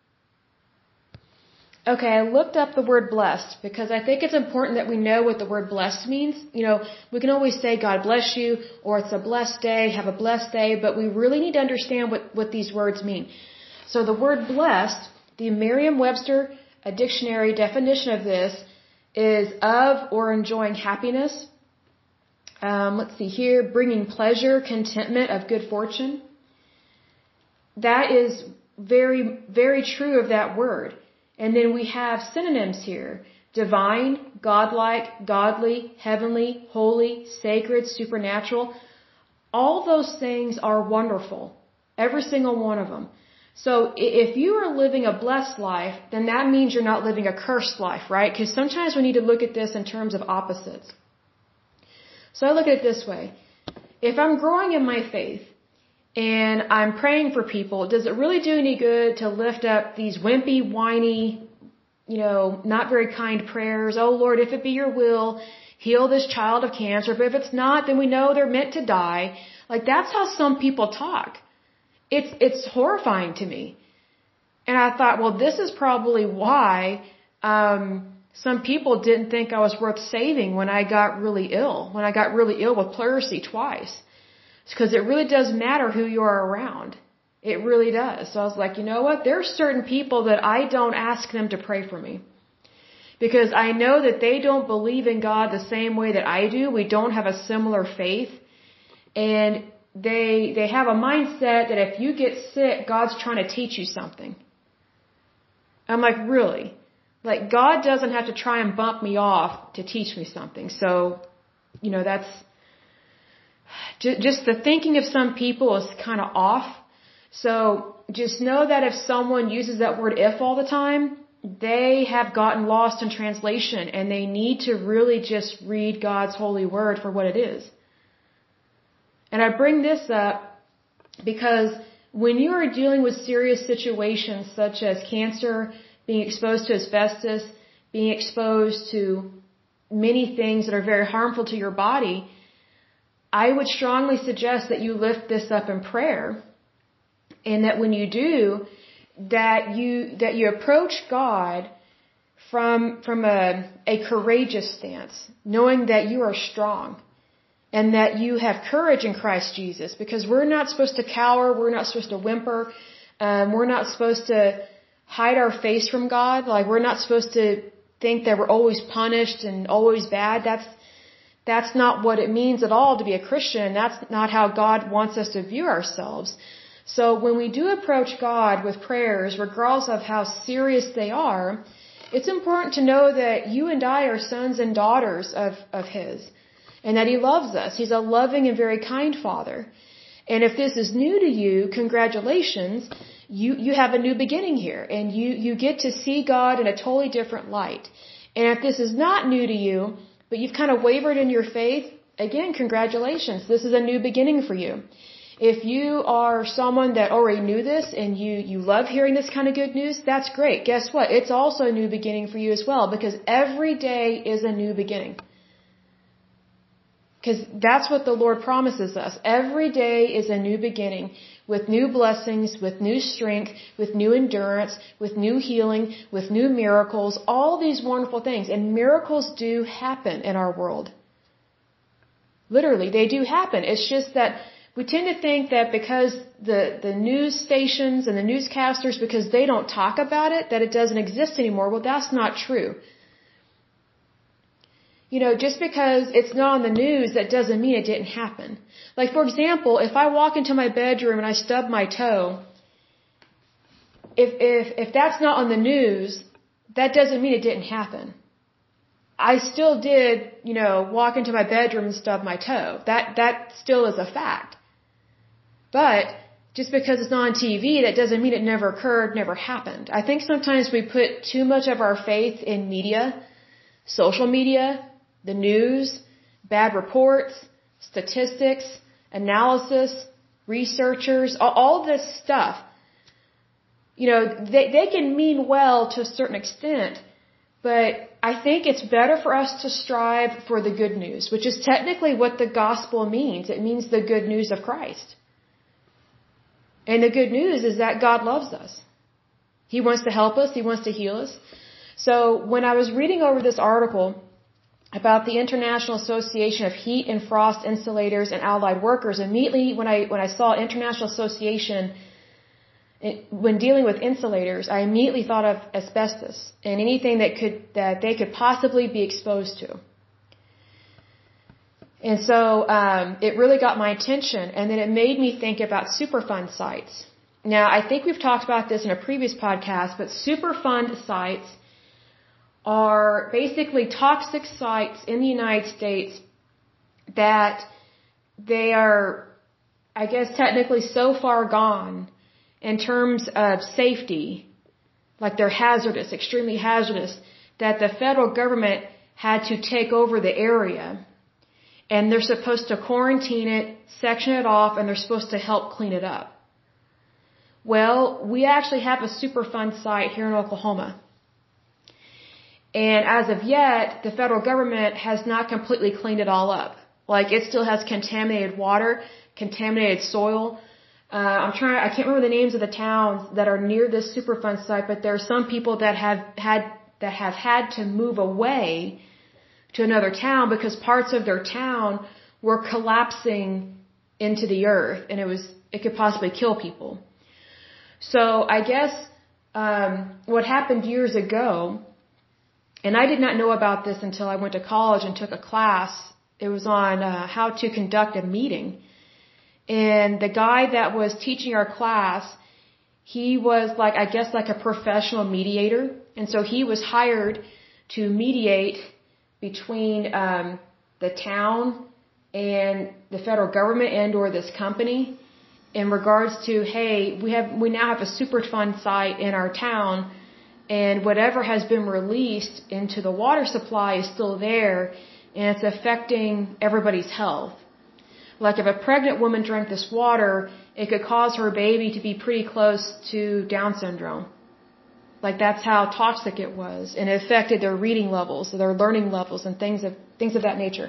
Okay, I looked up the word blessed because I think it's important that we know what the word blessed means. You know, we can always say God bless you, or it's a blessed day, have a blessed day, but we really need to understand what, what these words mean. So the word blessed, the Merriam-Webster a dictionary definition of this is of or enjoying happiness. Um, let's see here, bringing pleasure, contentment, of good fortune. That is very, very true of that word. And then we have synonyms here. Divine, godlike, godly, heavenly, holy, sacred, supernatural. All those things are wonderful. Every single one of them. So if you are living a blessed life, then that means you're not living a cursed life, right? Because sometimes we need to look at this in terms of opposites. So I look at it this way. if I'm growing in my faith and I'm praying for people, does it really do any good to lift up these wimpy, whiny, you know, not very kind prayers? Oh Lord, if it be your will, heal this child of cancer. But if it's not, then we know they're meant to die. Like, that's how some people talk. It's, it's horrifying to me. And I thought, well, this is probably why, um, some people didn't think I was worth saving when I got really ill, when I got really ill with pleurisy twice. It's because it really does matter who you are around. It really does. So I was like, you know what? There are certain people that I don't ask them to pray for me. Because I know that they don't believe in God the same way that I do. We don't have a similar faith. And they, they have a mindset that if you get sick, God's trying to teach you something. I'm like, really? Like, God doesn't have to try and bump me off to teach me something. So, you know, that's just the thinking of some people is kind of off. So just know that if someone uses that word if all the time, they have gotten lost in translation, and they need to really just read God's holy word for what it is. And I bring this up because when you are dealing with serious situations such as cancer, being exposed to asbestos, being exposed to many things that are very harmful to your body, I would strongly suggest that you lift this up in prayer, and that when you do, that you that you approach God from from a a courageous stance, knowing that you are strong and that you have courage in Christ Jesus, because we're not supposed to cower, we're not supposed to whimper, um, we're not supposed to hide our face from God. Like, we're not supposed to think that we're always punished and always bad. That's that's not what it means at all to be a Christian. That's not how God wants us to view ourselves. So when we do approach God with prayers, regardless of how serious they are, it's important to know that you and I are sons and daughters of, of His, and that He loves us. He's a loving and very kind Father. And if this is new to you, congratulations. You, you have a new beginning here, and you, you get to see God in a totally different light. And if this is not new to you, but you've kind of wavered in your faith, again, congratulations. This is a new beginning for you. If you are someone that already knew this and you, you love hearing this kind of good news, that's great. Guess what? It's also a new beginning for you as well, because every day is a new beginning. Because that's what the Lord promises us. Every day is a new beginning, with new blessings, with new strength, with new endurance, with new healing, with new miracles, all these wonderful things. And miracles do happen in our world. Literally, they do happen. It's just that we tend to think that because the, the news stations and the newscasters, because they don't talk about it, that it doesn't exist anymore. Well, that's not true. You know, just because it's not on the news, that doesn't mean it didn't happen. Like, for example, if I walk into my bedroom and I stub my toe, if, if, if that's not on the news, that doesn't mean it didn't happen. I still did, you know, walk into my bedroom and stub my toe. That, that still is a fact. But just because it's not on T V, that doesn't mean it never occurred, never happened. I think sometimes we put too much of our faith in media, social media, the news, bad reports, statistics, analysis, researchers, all, all this stuff. You know, they, they can mean well to a certain extent, but I think it's better for us to strive for the good news, which is technically what the gospel means. It means the good news of Christ. And the good news is that God loves us. He wants to help us. He wants to heal us. So when I was reading over this article about the International Association of Heat and Frost Insulators and Allied Workers, immediately when I when I saw International Association, it, when dealing with insulators, I immediately thought of asbestos and anything that could that they could possibly be exposed to. And so um, it really got my attention, and then it made me think about Superfund sites. Now, I think we've talked about this in a previous podcast, but Superfund sites are basically toxic sites in the United States that they are, I guess, technically so far gone in terms of safety, like they're hazardous, extremely hazardous, that the federal government had to take over the area. and they're supposed to quarantine it, section it off, and they're supposed to help clean it up. Well, we actually have a Superfund site here in Oklahoma. And as of yet, the federal government has not completely cleaned it all up. Like, it still has contaminated water, contaminated soil. Uh, I'm trying, I can't remember the names of the towns that are near this Superfund site, but there are some people that have had, that have had to move away to another town because parts of their town were collapsing into the earth, and it was, it could possibly kill people. So I guess, um, what happened years ago, and I did not know about this until I went to college and took a class. It was on uh, how to conduct a meeting. And the guy that was teaching our class, he was like, I guess like a professional mediator. And so he was hired to mediate between um, the town and the federal government and or this company in regards to, hey, we have we now have a Superfund site in our town, and whatever has been released into the water supply is still there, and it's affecting everybody's health. Like if a pregnant woman drank this water, it could cause her baby to be pretty close to Down syndrome. Like that's how toxic it was, and it affected their reading levels, their learning levels, and things of things of that nature.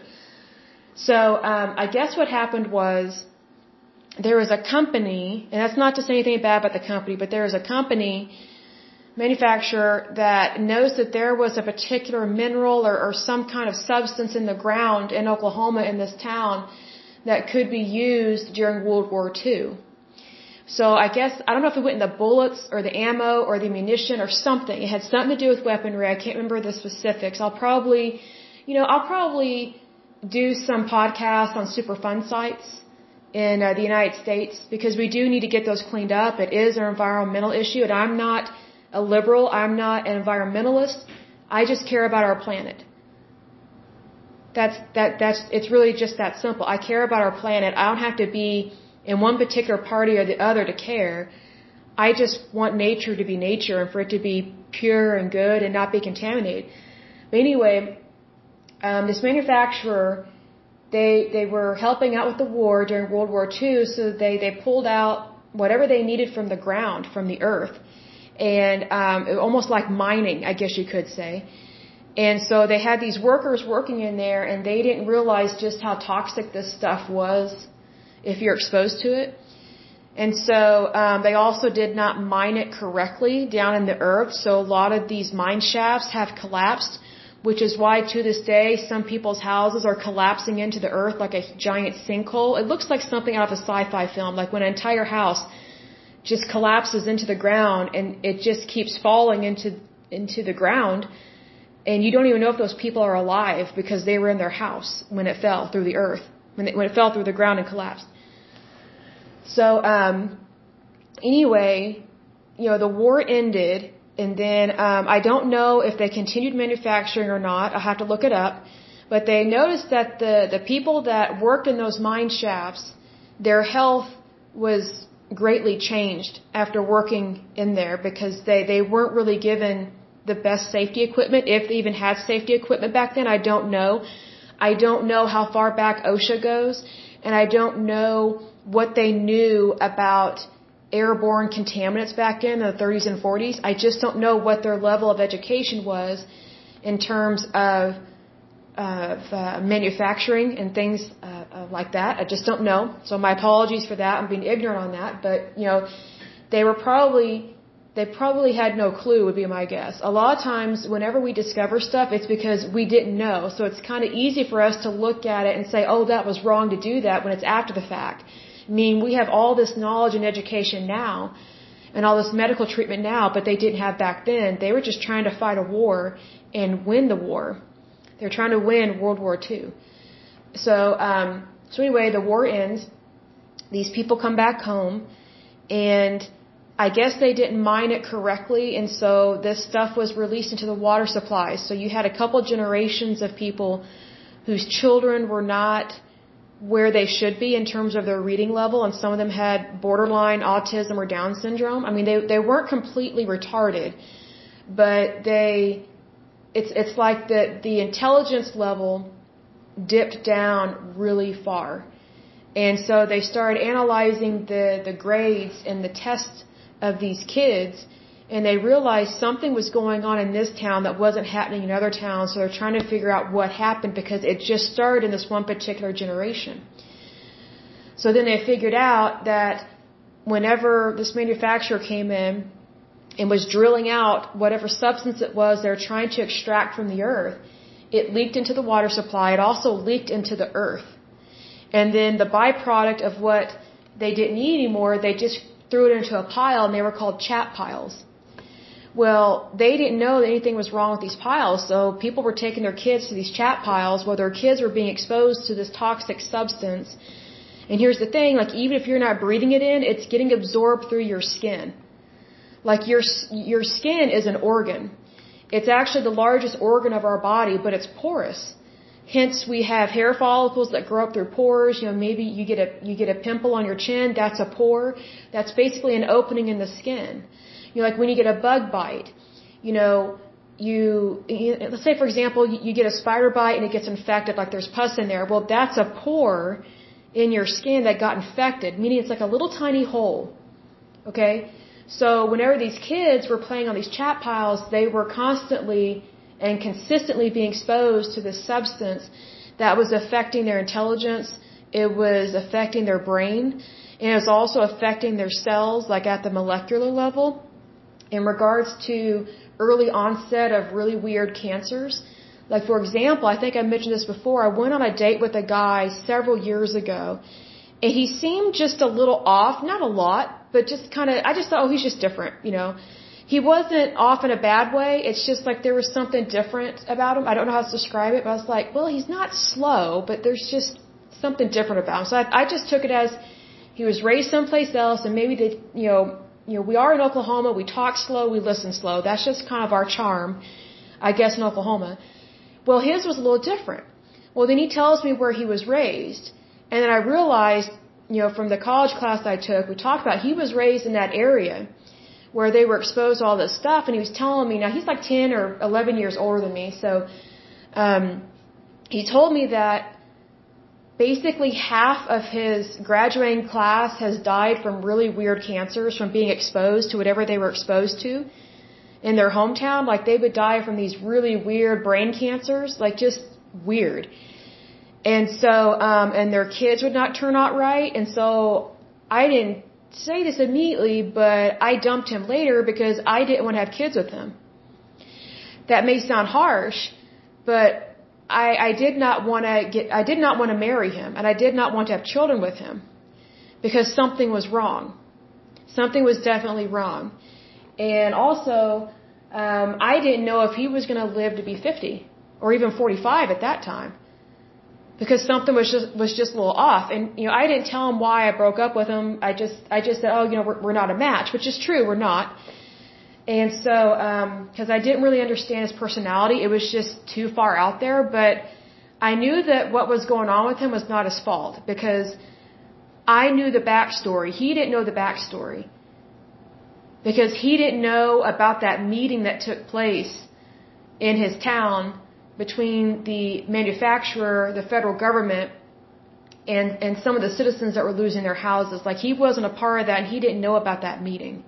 So um, I guess what happened was there was a company, and that's not to say anything bad about the company, but there was a company manufacturer that knows that there was a particular mineral or, or some kind of substance in the ground in Oklahoma in this town that could be used during World War Two. So I guess, I don't know if it went in the bullets or the ammo or the munition or something. It had something to do with weaponry. I can't remember the specifics. I'll probably, you know, I'll probably do some podcasts on Superfund sites in uh, the United States because we do need to get those cleaned up. It is an environmental issue, and I'm not a liberal. I'm not an environmentalist. I just care about our planet. That's, that, that's, it's really just that simple. I care about our planet. I don't have to be in one particular party or the other to care. I just want nature to be nature and for it to be pure and good and not be contaminated. But anyway, um, this manufacturer, they, they were helping out with the war during World War Two, so they, they pulled out whatever they needed from the ground, from the earth. And um, it, almost like mining, I guess you could say. And so they had these workers working in there, and they didn't realize just how toxic this stuff was if you're exposed to it. And so um, they also did not mine it correctly down in the earth, so a lot of these mine shafts have collapsed, which is why to this day some people's houses are collapsing into the earth like a giant sinkhole. It looks like something out of a sci-fi film, like when an entire house just collapses into the ground and it just keeps falling into into the ground, and you don't even know if those people are alive because they were in their house when it fell through the earth, when it, when it fell through the ground and collapsed. So um, anyway, you know, the war ended, and then um, I don't know if they continued manufacturing or not. I'll have to look it up. But they noticed that the, the people that worked in those mine shafts, their health was greatly changed after working in there because they, they weren't really given the best safety equipment, if they even had safety equipment back then. I don't know. I don't know how far back OSHA goes, and I don't know what they knew about airborne contaminants back in the thirties and forties. I just don't know what their level of education was in terms of, of uh, manufacturing and things uh, uh, like that. I just don't know. So my apologies for that. I'm being ignorant on that. But, you know, they were probably, they probably had no clue would be my guess. A lot of times whenever we discover stuff, it's because we didn't know. So it's kind of easy for us to look at it and say, oh, that was wrong to do that when it's after the fact. I mean, we have all this knowledge and education now and all this medical treatment now, but they didn't have back then. They were just trying to fight a war and win the war. They're trying to win World War Two. So, um, so anyway, the war ends. These people come back home, and I guess they didn't mine it correctly, and so this stuff was released into the water supplies. So you had a couple generations of people whose children were not where they should be in terms of their reading level, and some of them had borderline autism or Down syndrome. I mean, they they weren't completely retarded, but they it's it's like the the intelligence level dipped down really far. And so they started analyzing the, the grades and the tests of these kids, and they realized something was going on in this town that wasn't happening in other towns, so they're trying to figure out what happened because it just started in this one particular generation. So then they figured out that whenever this manufacturer came in and was drilling out whatever substance it was they're trying to extract from the earth, it leaked into the water supply. It also leaked into the earth. And then the byproduct of what they didn't need anymore, they just threw it into a pile, and they were called chat piles. Well, they didn't know that anything was wrong with these piles, so people were taking their kids to these chat piles where their kids were being exposed to this toxic substance. And here's the thing, like, even if you're not breathing it in, it's getting absorbed through your skin. Like, your your skin is an organ. It's actually the largest organ of our body, but it's porous. Hence, we have hair follicles that grow up through pores. You know, maybe you get a you get a pimple on your chin. That's a pore. That's basically an opening in the skin. You know, like when you get a bug bite. You know, you, you let's say for example, you, you get a spider bite and it gets infected. Like there's pus in there. Well, that's a pore in your skin that got infected. Meaning it's like a little tiny hole. Okay. So whenever these kids were playing on these chat piles, they were constantly and consistently being exposed to this substance that was affecting their intelligence. It was affecting their brain, and it was also affecting their cells, like at the molecular level. In regards to early onset of really weird cancers, like for example, I think I mentioned this before, I went on a date with a guy several years ago, and he seemed just a little off, not a lot, but just kind of, I just thought, oh, he's just different, you know. He wasn't off in a bad way. It's just like there was something different about him. I don't know how to describe it, but I was like, well, he's not slow, but there's just something different about him. So I, I just took it as he was raised someplace else, and maybe they, you know, you know, we are in Oklahoma. We talk slow, we listen slow. That's just kind of our charm, I guess, in Oklahoma. Well, his was a little different. Well, then he tells me where he was raised, and then I realized, you know, from the college class I took, we talked about he was raised in that area where they were exposed to all this stuff, and he was telling me, now he's like ten or eleven years older than me, so um, he told me that basically half of his graduating class has died from really weird cancers from being exposed to whatever they were exposed to in their hometown. Like they would die from these really weird brain cancers, like just weird. And so, um, and their kids would not turn out right, and so I didn't say this immediately, but I dumped him later because I didn't want to have kids with him. That may sound harsh, but I, I did not want to get, I did not want to marry him, and I did not want to have children with him because something was wrong. Something was definitely wrong. And also, um, I didn't know if he was going to live to be fifty or even forty-five at that time, because something was just was just a little off. And you know, I didn't tell him why I broke up with him. I just I just said, oh, you know, we're, we're not a match, which is true, we're not. And so, because um, I didn't really understand his personality, it was just too far out there. But I knew that what was going on with him was not his fault, because I knew the backstory. He didn't know the backstory, because he didn't know about that meeting that took place in his town between the manufacturer, the federal government, and, and some of the citizens that were losing their houses. Like, he wasn't a part of that, and he didn't know about that meeting.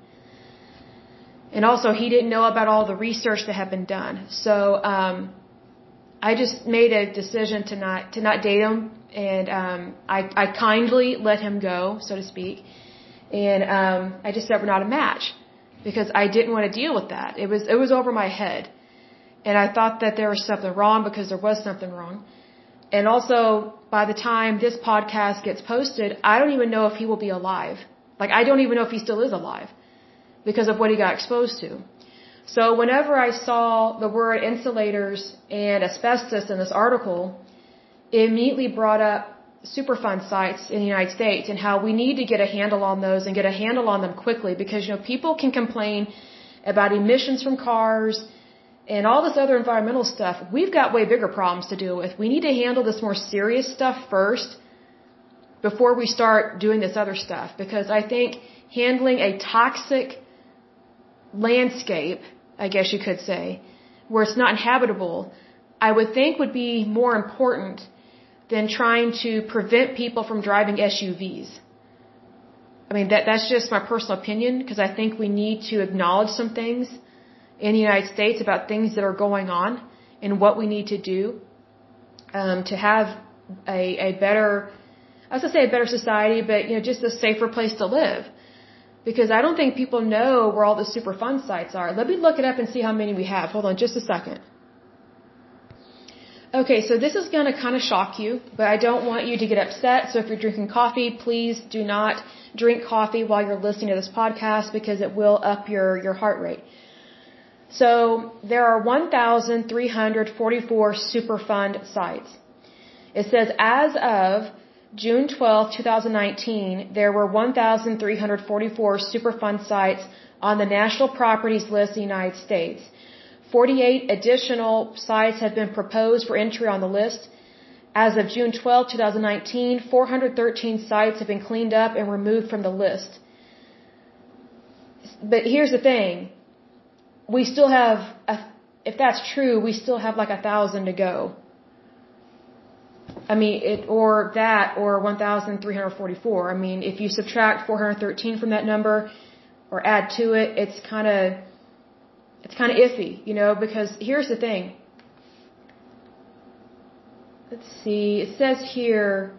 And also, he didn't know about all the research that had been done. So, um, I just made a decision to not, to not date him, and, um, I, I kindly let him go, so to speak. And, um, I just said we're not a match, because I didn't want to deal with that. It was, it was over my head. And I thought that there was something wrong, because there was something wrong. And also, by the time this podcast gets posted, I don't even know if he will be alive. Like, I don't even know if he still is alive, because of what he got exposed to. So whenever I saw the word insulators and asbestos in this article, it immediately brought up Superfund sites in the United States and how we need to get a handle on those and get a handle on them quickly, because, you know, people can complain about emissions from cars and all this other environmental stuff. We've got way bigger problems to deal with. We need to handle this more serious stuff first before we start doing this other stuff, because I think handling a toxic landscape, I guess you could say, where it's not inhabitable, I would think would be more important than trying to prevent people from driving S U Vs. I mean, that that's just my personal opinion, because I think we need to acknowledge some things in the United States about things that are going on and what we need to do um, to have a, a better, I was going to say a better society, but, you know, just a safer place to live. Because I don't think people know where all the Superfund sites are. Let me look it up and see how many we have. Hold on just a second. Okay, so this is going to kind of shock you, but I don't want you to get upset. So if you're drinking coffee, please do not drink coffee while you're listening to this podcast, because it will up your, your heart rate. So there are one thousand three hundred forty-four Superfund sites. It says as of June twelfth, twenty nineteen, there were one thousand three hundred forty-four Superfund sites on the National Properties List of the United States. forty-eight additional sites have been proposed for entry on the list. As of June twelfth, twenty nineteen, four hundred thirteen sites have been cleaned up and removed from the list. But here's the thing. We still have, a, if that's true, we still have like a thousand to go. I mean, it, or that, or one thousand three hundred forty-four. I mean, if you subtract four hundred thirteen from that number, or add to it, it's kind of, it's kind of iffy, you know, because here's the thing. Let's see, it says here,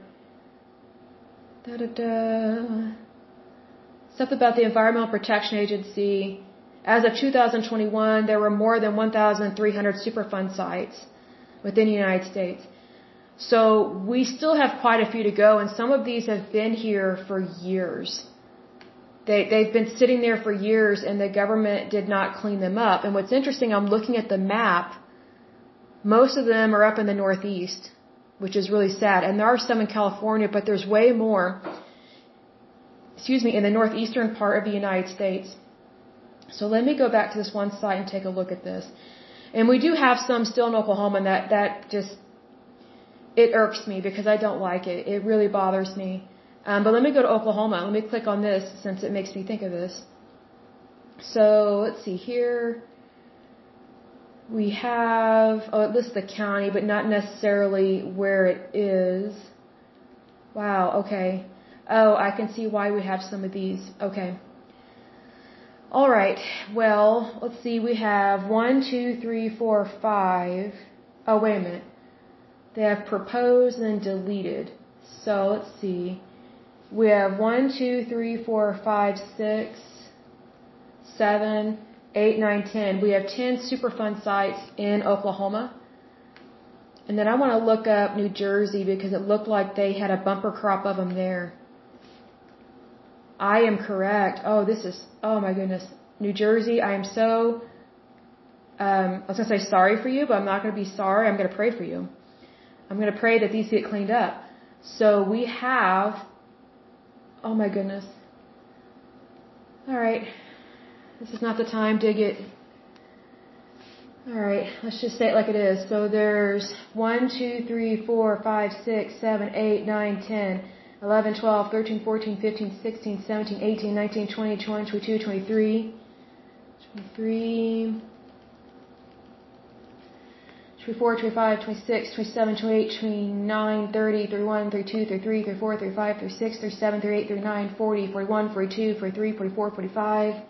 da da da, stuff about the Environmental Protection Agency. As of two thousand twenty-one, there were more than one thousand three hundred Superfund sites within the United States. So we still have quite a few to go, and some of these have been here for years. They, they've been sitting there for years, and the government did not clean them up. And what's interesting, I'm looking at the map. Most of them are up in the Northeast, which is really sad. And there are some in California, but there's way more, excuse me, in the northeastern part of the United States. So let me go back to this one site and take a look at this. And we do have some still in Oklahoma, and that, that just, it irks me because I don't like it. It really bothers me. Um, but let me go to Oklahoma. Let me click on this since it makes me think of this. So let's see here. We have, oh, it lists the county, but not necessarily where it is. Wow, okay. Oh, I can see why we have some of these. Okay. All right. Well, let's see. We have one, two, three, four, five. Oh, wait a minute. They have proposed and then deleted. So let's see. We have one, two, three, four, five, six, seven, eight, nine, ten. We have ten Superfund sites in Oklahoma. And then I want to look up New Jersey because it looked like they had a bumper crop of them there. I am correct. Oh, this is, oh my goodness. New Jersey, I am so, um, I was going to say sorry for you, but I'm not going to be sorry. I'm going to pray for you. I'm going to pray that these get cleaned up. So we have, oh my goodness. All right. This is not the time to get, all right, let's just say it like it is. So there's one, two, three, four, five, six, seven, eight, nine, ten, eleven, twelve, thirteen, fourteen, fifteen, sixteen, seventeen, eighteen, nineteen, twenty, twenty-one, twenty-two, twenty-three, twenty-three, twenty-four, twenty-five, twenty-six, twenty-seven, twenty-eight, twenty-nine, thirty, thirty-one, thirty-two, thirty-three, thirty-four, thirty-five, thirty-six, thirty-seven, thirty-eight, thirty-nine, forty, forty-one, forty-two, forty-three, forty-four, forty-five,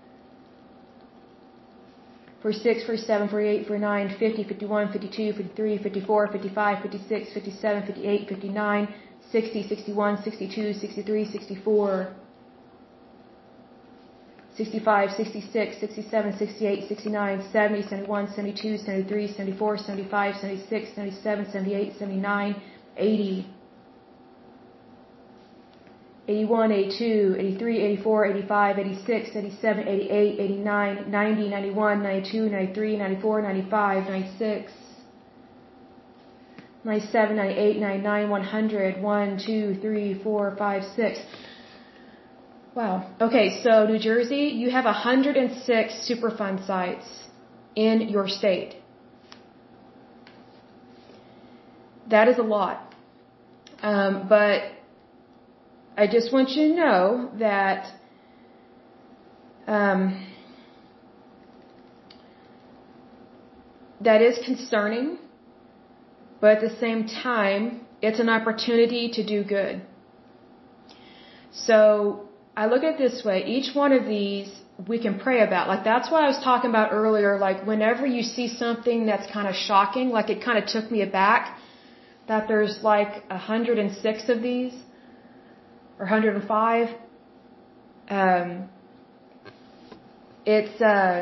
forty-six, forty-seven, forty-eight, forty-nine, fifty, fifty-one, fifty-two, fifty-three, fifty-four, fifty-five, fifty-six, fifty-seven, fifty-eight, fifty-nine, sixty, sixty-one, sixty-two, sixty-three, sixty-four, sixty-five, sixty-six, sixty-seven, sixty-eight, sixty-nine, seventy, seventy-one, seventy-two, seventy-three, seventy-four, seventy-five, seventy-six, seventy-seven, seventy-eight, seventy-nine, eighty, eighty-one, eighty-two, eighty-three, eighty-four, eighty-five, eighty-six, eighty-seven, eighty-eight, eighty-nine, ninety, ninety-one, ninety-two, ninety-three, ninety-four, ninety-five, ninety-six, ninety-seven, ninety-eight, ninety-nine, one hundred, one, two, three, four, five, six. Wow. Okay, so New Jersey, you have one hundred six Superfund sites in your state. That is a lot. Um, but I just want you to know that um, that is concerning, but at the same time, It's an opportunity to do good. So I look at it this way. Each one of these we can pray about. Like that's what I was talking about earlier. Like whenever you see something that's kind of shocking, like it kind of took me aback that there's like one hundred six of these or one hundred five. Um, it's uh,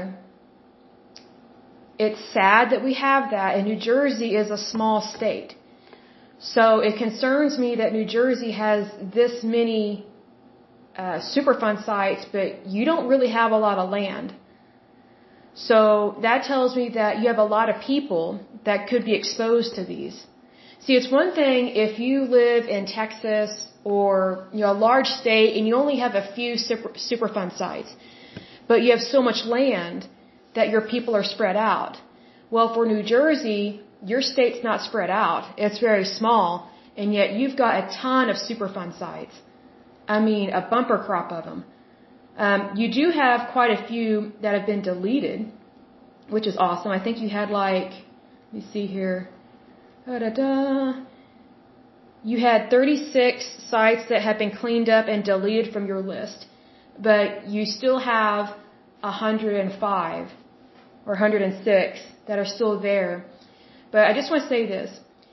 it's sad that we have that, and New Jersey is a small state. So it concerns me that New Jersey has this many uh, Superfund sites, but you don't really have a lot of land. So that tells me that you have a lot of people that could be exposed to these. See, it's one thing if you live in Texas or you know a large state and you only have a few super, Superfund sites, but you have so much land that your people are spread out. Well, for New Jersey, your state's not spread out. It's very small, and yet you've got a ton of Superfund sites. I mean, a bumper crop of them. Um, you do have quite a few that have been deleted, which is awesome. I think you had like, let me see here. Da-da-da. You had thirty-six sites that have been cleaned up and deleted from your list, but you still have one hundred five or one hundred six that are still there. But I just want to say this.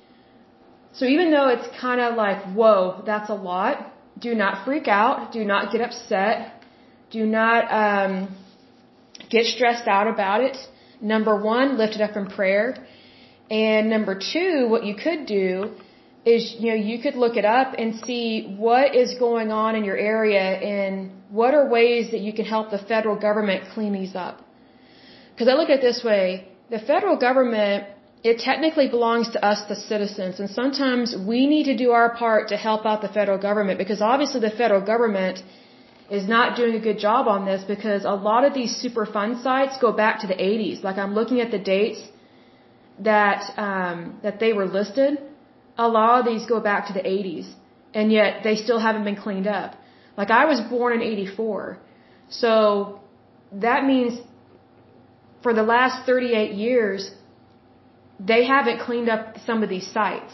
So even though it's kind of like, whoa, that's a lot, do not freak out. Do not get upset. Do not um, get stressed out about it. Number one, lift it up in prayer. And number two, what you could do is, you know, you could look it up and see what is going on in your area and what are ways that you can help the federal government clean these up. Because I look at it this way, the federal government, it technically belongs to us, the citizens, and sometimes we need to do our part to help out the federal government because obviously the federal government is not doing a good job on this because a lot of these Superfund sites go back to the eighties. Like I'm looking at the dates that um, that they were listed. A lot of these go back to the eighties, and yet they still haven't been cleaned up. Like I was born in eighty-four, so that means for the last thirty-eight years, they haven't cleaned up some of these sites.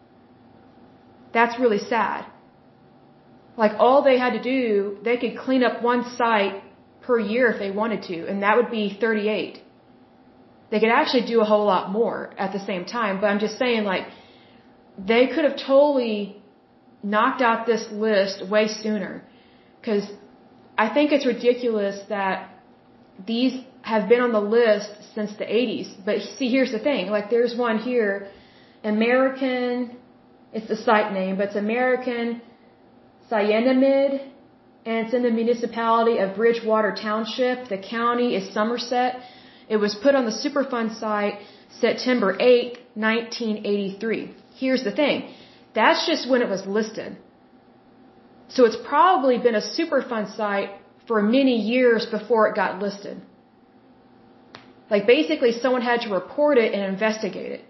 That's really sad. Like all they had to do, they could clean up one site per year if they wanted to, and that would be thirty-eight. They could actually do a whole lot more at the same time, but I'm just saying like they could have totally knocked out this list way sooner. Because I think it's ridiculous that these have been on the list since the eighties. But see, here's the thing. Like there's one here, American, it's the site name, but it's American Cyanamid, and it's in the municipality of Bridgewater Township. The county is Somerset. It was put on the Superfund site September eighth, nineteen eighty-three. Here's the thing. That's just when it was listed. So it's probably been a Superfund site for many years before it got listed. Like basically someone had to report it and investigate it.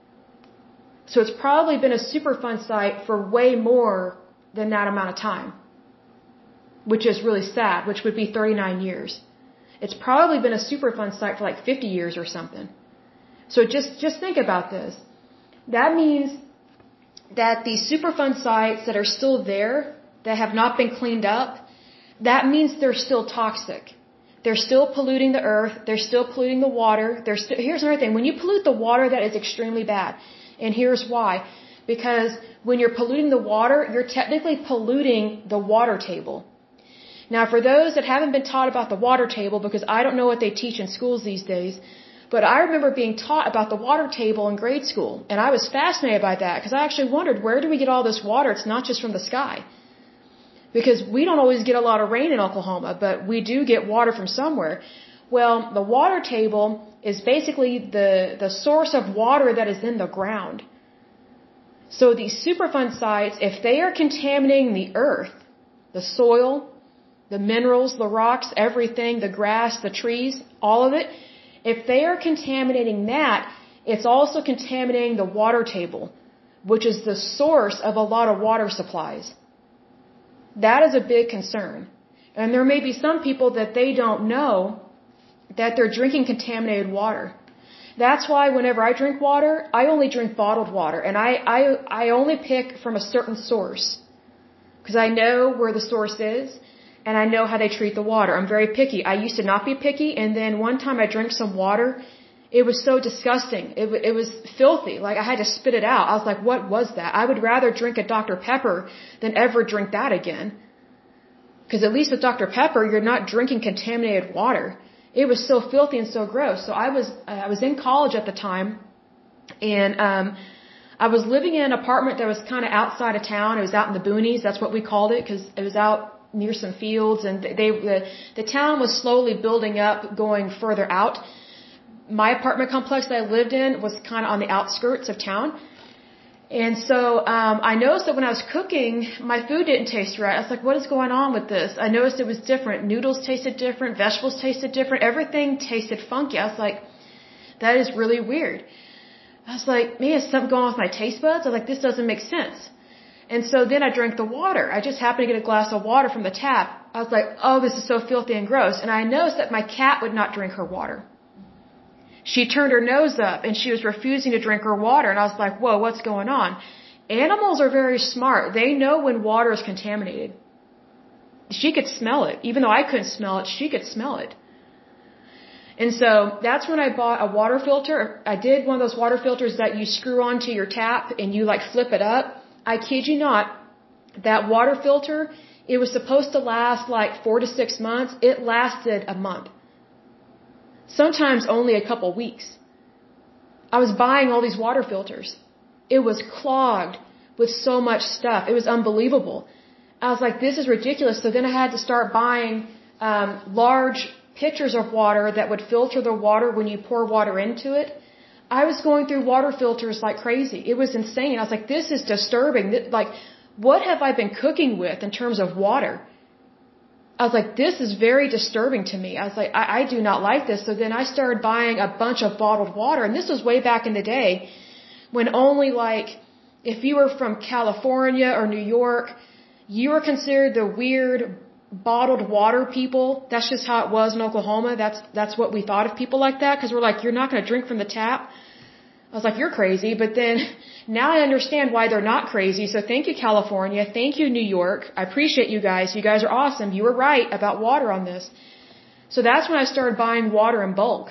So it's probably been a Superfund site for way more than that amount of time, which is really sad, which would be thirty-nine years. It's probably been a Superfund site for like fifty years or something. So just, just think about this. That means that these Superfund sites that are still there, that have not been cleaned up, that means they're still toxic. They're still polluting the earth. They're still polluting the water. They're st- Here's another thing. When you pollute the water, that is extremely bad. And here's why. Because when you're polluting the water, you're technically polluting the water table. Now, for those that haven't been taught about the water table, because I don't know what they teach in schools these days, but I remember being taught about the water table in grade school. And I was fascinated by that because I actually wondered, where do we get all this water? It's not just from the sky. Because we don't always get a lot of rain in Oklahoma, but we do get water from somewhere. Well, the water table is basically the, the source of water that is in the ground. So these Superfund sites, if they are contaminating the earth, the soil, the minerals, the rocks, everything, the grass, the trees, all of it, if they are contaminating that, it's also contaminating the water table, which is the source of a lot of water supplies. That is a big concern. And there may be some people that they don't know that they're drinking contaminated water. That's why whenever I drink water, I only drink bottled water. And I, I, I only pick from a certain source. Because I know where the source is. And I know how they treat the water. I'm very picky. I used to not be picky. And then one time I drank some water. It was so disgusting. It, it was filthy. Like I had to spit it out. I was like, what was that? I would rather drink a Doctor Pepper than ever drink that again. Because at least with Doctor Pepper, you're not drinking contaminated water. It was so filthy and so gross. So I was, I was in college at the time. And, um, I was living in an apartment that was kind of outside of town. It was out in the boonies. That's what we called it because it was out near some fields. And they, the, the town was slowly building up, going further out. My apartment complex that I lived in was kind of on the outskirts of town. And so um, I noticed that when I was cooking, my food didn't taste right. I was like, what is going on with this? I noticed it was different. Noodles tasted different. Vegetables tasted different. Everything tasted funky. I was like, that is really weird. I was like, man, is something going on with my taste buds? I was like, this doesn't make sense. And so then I drank the water. I just happened to get a glass of water from the tap. I was like, oh, this is so filthy and gross. And I noticed that my cat would not drink her water. She turned her nose up and she was refusing to drink her water. And I was like, whoa, what's going on? Animals are very smart. They know when water is contaminated. She could smell it. Even though I couldn't smell it, she could smell it. And so that's when I bought a water filter. I did one of those water filters that you screw onto your tap and you like flip it up. I kid you not, that water filter, it was supposed to last like four to six months. It lasted a month. Sometimes only a couple weeks. I was buying all these water filters. It was clogged with so much stuff. It was unbelievable. I was like, this is ridiculous. So then I had to start buying um, large pitchers of water that would filter the water when you pour water into it. I was going through water filters like crazy. It was insane. I was like, this is disturbing. Like, what have I been cooking with in terms of water? I was like, this is very disturbing to me. I was like, I, I do not like this. So then I started buying a bunch of bottled water. And this was way back in the day when only like, if you were from California or New York, you were considered the weird bottled water people. That's just how it was in Oklahoma. That's, that's what we thought of people like that. Cause we're like, you're not going to drink from the tap. I was like, you're crazy. But then now I understand why they're not crazy. So thank you, California. Thank you, New York. I appreciate you guys. You guys are awesome. You were right about water on this. So that's when I started buying water in bulk.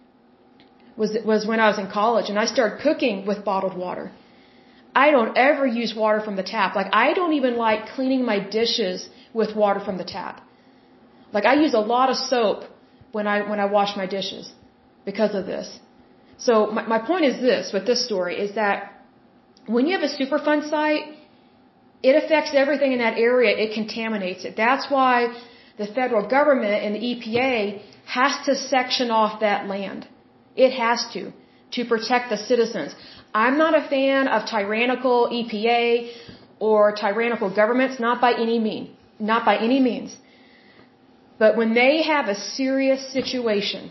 Was, was when I was in college. And I started cooking with bottled water. I don't ever use water from the tap. Like, I don't even like cleaning my dishes with water from the tap. Like, I use a lot of soap when I, when I wash my dishes because of this. So my, my point is this, with this story, is that when you have a Superfund site, it affects everything in that area. It contaminates it. That's why the federal government and the E P A has to section off that land. It has to, to protect the citizens. I'm not a fan of tyrannical E P A or tyrannical governments, not by any means, not by any means. But when they have a serious situation,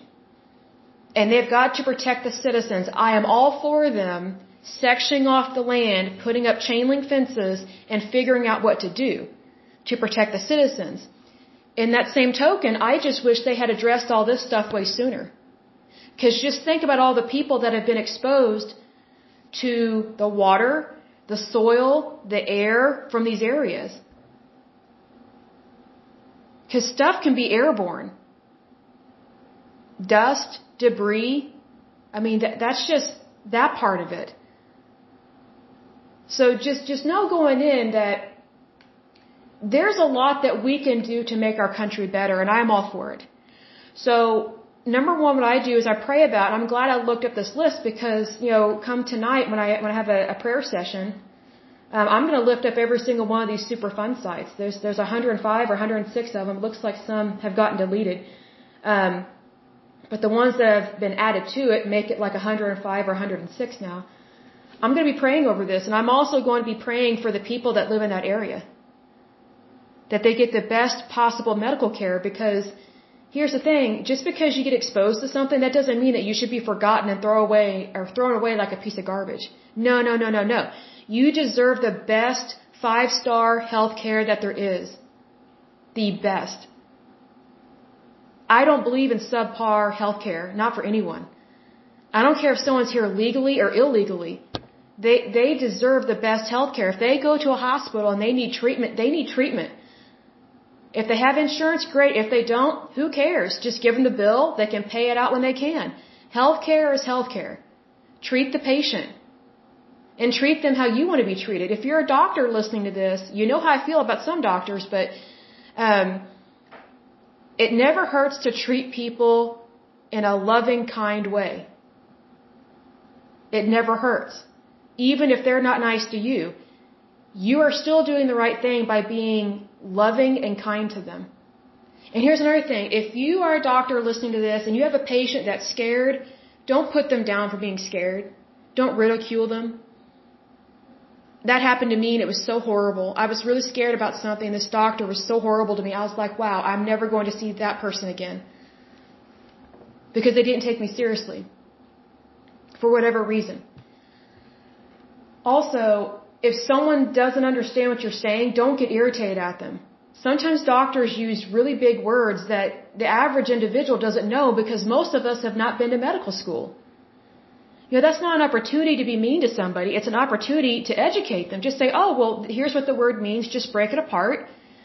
and they've got to protect the citizens, I am all for them sectioning off the land, putting up chain link fences, and figuring out what to do to protect the citizens. In that same token, I just wish they had addressed all this stuff way sooner. Because just think about all the people that have been exposed to the water, the soil, the air from these areas. Because stuff can be airborne. Dust, debris. I mean, that, that's just that part of it. So just, just know going in that there's a lot that we can do to make our country better, and I'm all for it. So, number one, what I do is I pray about, and I'm glad I looked up this list because, you know, come tonight when I, when I have a, a prayer session, um, I'm going to lift up every single one of these Superfund sites. There's, there's one hundred five or one hundred six of them. It looks like some have gotten deleted. Um, But the ones that have been added to it make it like one hundred five or one hundred six now. I'm going to be praying over this, and I'm also going to be praying for the people that live in that area. That they get the best possible medical care, because here's the thing, just because you get exposed to something, that doesn't mean that you should be forgotten and throw away or thrown away like a piece of garbage. No, no, no, no, no. You deserve the best five-star health care that there is. The best. I don't believe in subpar healthcare, not for anyone. I don't care if someone's here legally or illegally. They, they deserve the best health care. If they go to a hospital and they need treatment, they need treatment. If they have insurance, great. If they don't, who cares? Just give them the bill. They can pay it out when they can. Healthcare is healthcare. Treat the patient. And treat them how you want to be treated. If you're a doctor listening to this, you know how I feel about some doctors, but um, it never hurts to treat people in a loving, kind way. It never hurts. Even if they're not nice to you, you are still doing the right thing by being loving and kind to them. And here's another thing. If you are a doctor listening to this and you have a patient that's scared, don't put them down for being scared. Don't ridicule them. That happened to me and it was so horrible. I was really scared about something. This doctor was so horrible to me. I was like, wow, I'm never going to see that person again. Because they didn't take me seriously. For whatever reason. Also, if someone doesn't understand what you're saying, don't get irritated at them. Sometimes doctors use really big words that the average individual doesn't know because most of us have not been to medical school. You know, that's not an opportunity to be mean to somebody. It's an opportunity to educate them. Just say, oh, well, here's what the word means. Just break it apart.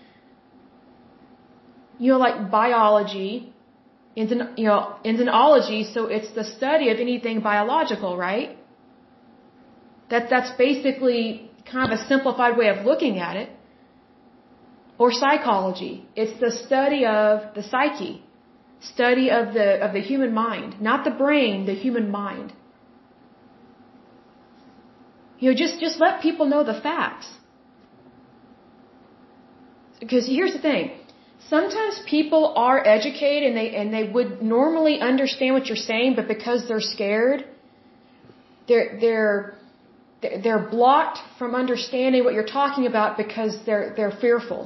You know, like biology, you know, entomology, so it's the study of anything biological, right? That, that's basically kind of a simplified way of looking at it. Or psychology. It's the study of the psyche. Study of the, of the human mind. Not the brain, the human mind. You know, just, just let people know the facts. Because here's the thing. Sometimes people are educated and they, and they would normally understand what you're saying, but because they're scared, they're, they're, they're blocked from understanding what you're talking about because they're, they're fearful.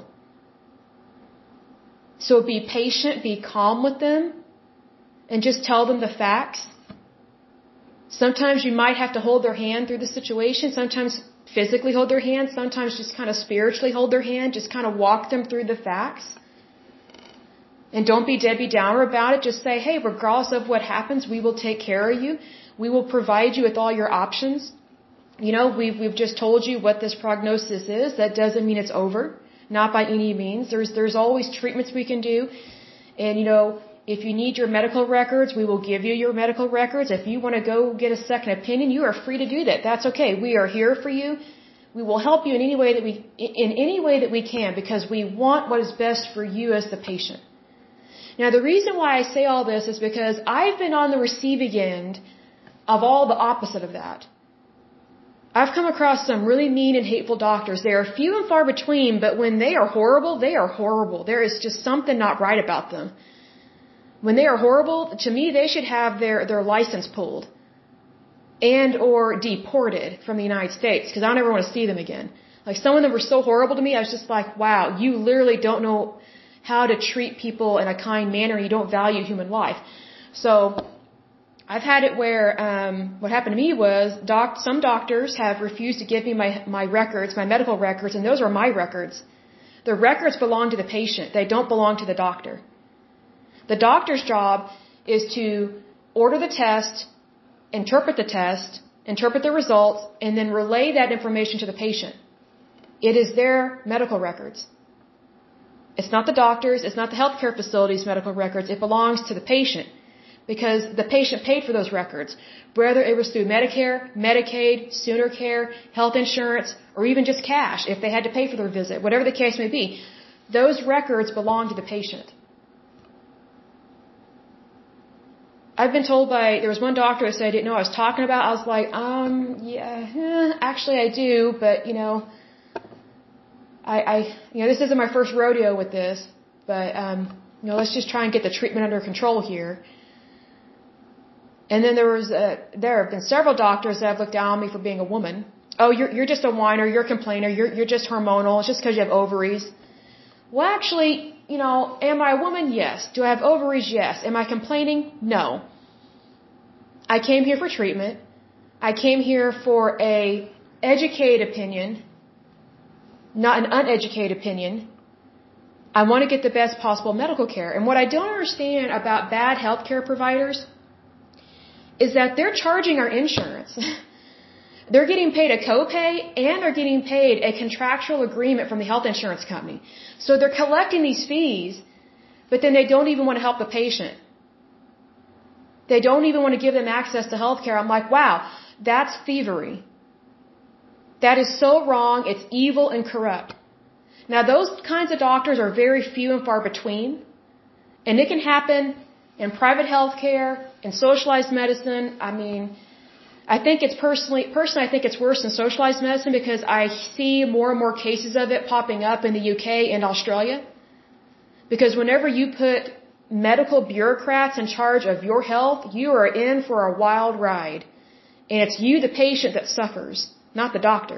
So be patient, be calm with them, and just tell them the facts. Sometimes you might have to hold their hand through the situation. Sometimes physically hold their hand. Sometimes just kind of spiritually hold their hand. Just kind of walk them through the facts. And don't be Debbie Downer about it. Just say, hey, regardless of what happens, we will take care of you. We will provide you with all your options. You know, we've, we've just told you what this prognosis is. That doesn't mean it's over. Not by any means. There's, there's always treatments we can do. And, you know, if you need your medical records, we will give you your medical records. If you want to go get a second opinion, you are free to do that. That's okay. We are here for you. We will help you in any way that we, in any way that we can, because we want what is best for you as the patient. Now, the reason why I say all this is because I've been on the receiving end of all the opposite of that. I've come across some really mean and hateful doctors. They are few and far between, but when they are horrible, they are horrible. There is just something not right about them. When they are horrible, to me, they should have their, their license pulled and or deported from the United States, because I don't ever want to see them again. Like, some of them were so horrible to me, I was just like, wow, you literally don't know how to treat people in a kind manner. You don't value human life. So I've had it where um, what happened to me was doc, some doctors have refused to give me my, my records, my medical records, and those are my records. The records belong to the patient. They don't belong to the doctor. The doctor's job is to order the test, interpret the test, interpret the results, and then relay that information to the patient. It is their medical records. It's not the doctor's, it's not the healthcare facility's medical records. It belongs to the patient. Because the patient paid for those records. Whether it was through Medicare, Medicaid, Sooner Care, health insurance, or even just cash if they had to pay for their visit, whatever the case may be, those records belong to the patient. I've been told by, there was one doctor that said I didn't know what I was talking about. I was like, um, yeah, eh, actually I do, but, you know, I, I, you know, this isn't my first rodeo with this, but, um, you know, let's just try and get the treatment under control here. And then there was, a, there have been several doctors that have looked down on me for being a woman. Oh, you're, you're just a whiner, you're a complainer, you're, you're just hormonal, it's just because you have ovaries. Well, actually, you know, am I a woman? Yes. Do I have ovaries? Yes. Am I complaining? No. I came here for treatment. I came here for a educated opinion, not an uneducated opinion. I want to get the best possible medical care. And what I don't understand about bad healthcare providers is that they're charging our insurance. They're getting paid a copay and they're getting paid a contractual agreement from the health insurance company. So they're collecting these fees, but then they don't even want to help the patient. They don't even want to give them access to health care. I'm like, wow, that's thievery. That is so wrong. It's evil and corrupt. Now, those kinds of doctors are very few and far between. And it can happen in private health care, in socialized medicine. I mean, I think it's personally, personally, I think it's worse than socialized medicine because I see more and more cases of it popping up in the U K and Australia. Because whenever you put medical bureaucrats in charge of your health, you are in for a wild ride. And it's you, the patient, that suffers, not the doctor.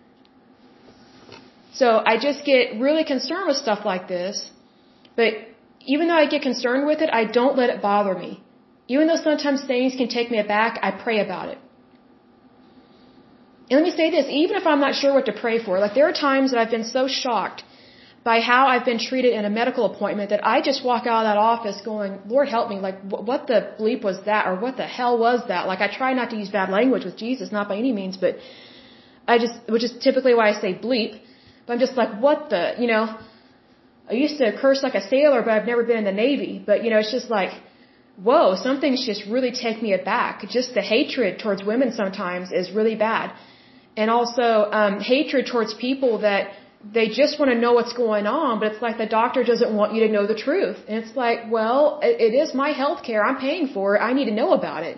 So I just get really concerned with stuff like this. But even though I get concerned with it, I don't let it bother me. Even though sometimes things can take me aback, I pray about it. And let me say this, even if I'm not sure what to pray for, like there are times that I've been so shocked by how I've been treated in a medical appointment that I just walk out of that office going, Lord help me, like what the bleep was that, or what the hell was that? Like I try not to use bad language with Jesus, not by any means, but I just, which is typically why I say bleep, but I'm just like, what the, you know, I used to curse like a sailor, but I've never been in the Navy, but you know, it's just like, whoa, some things just really take me aback. Just the hatred towards women sometimes is really bad. And also, um, hatred towards people that they just want to know what's going on, but it's like the doctor doesn't want you to know the truth. And it's like, well, it, it is my health care. I'm paying for it. I need to know about it.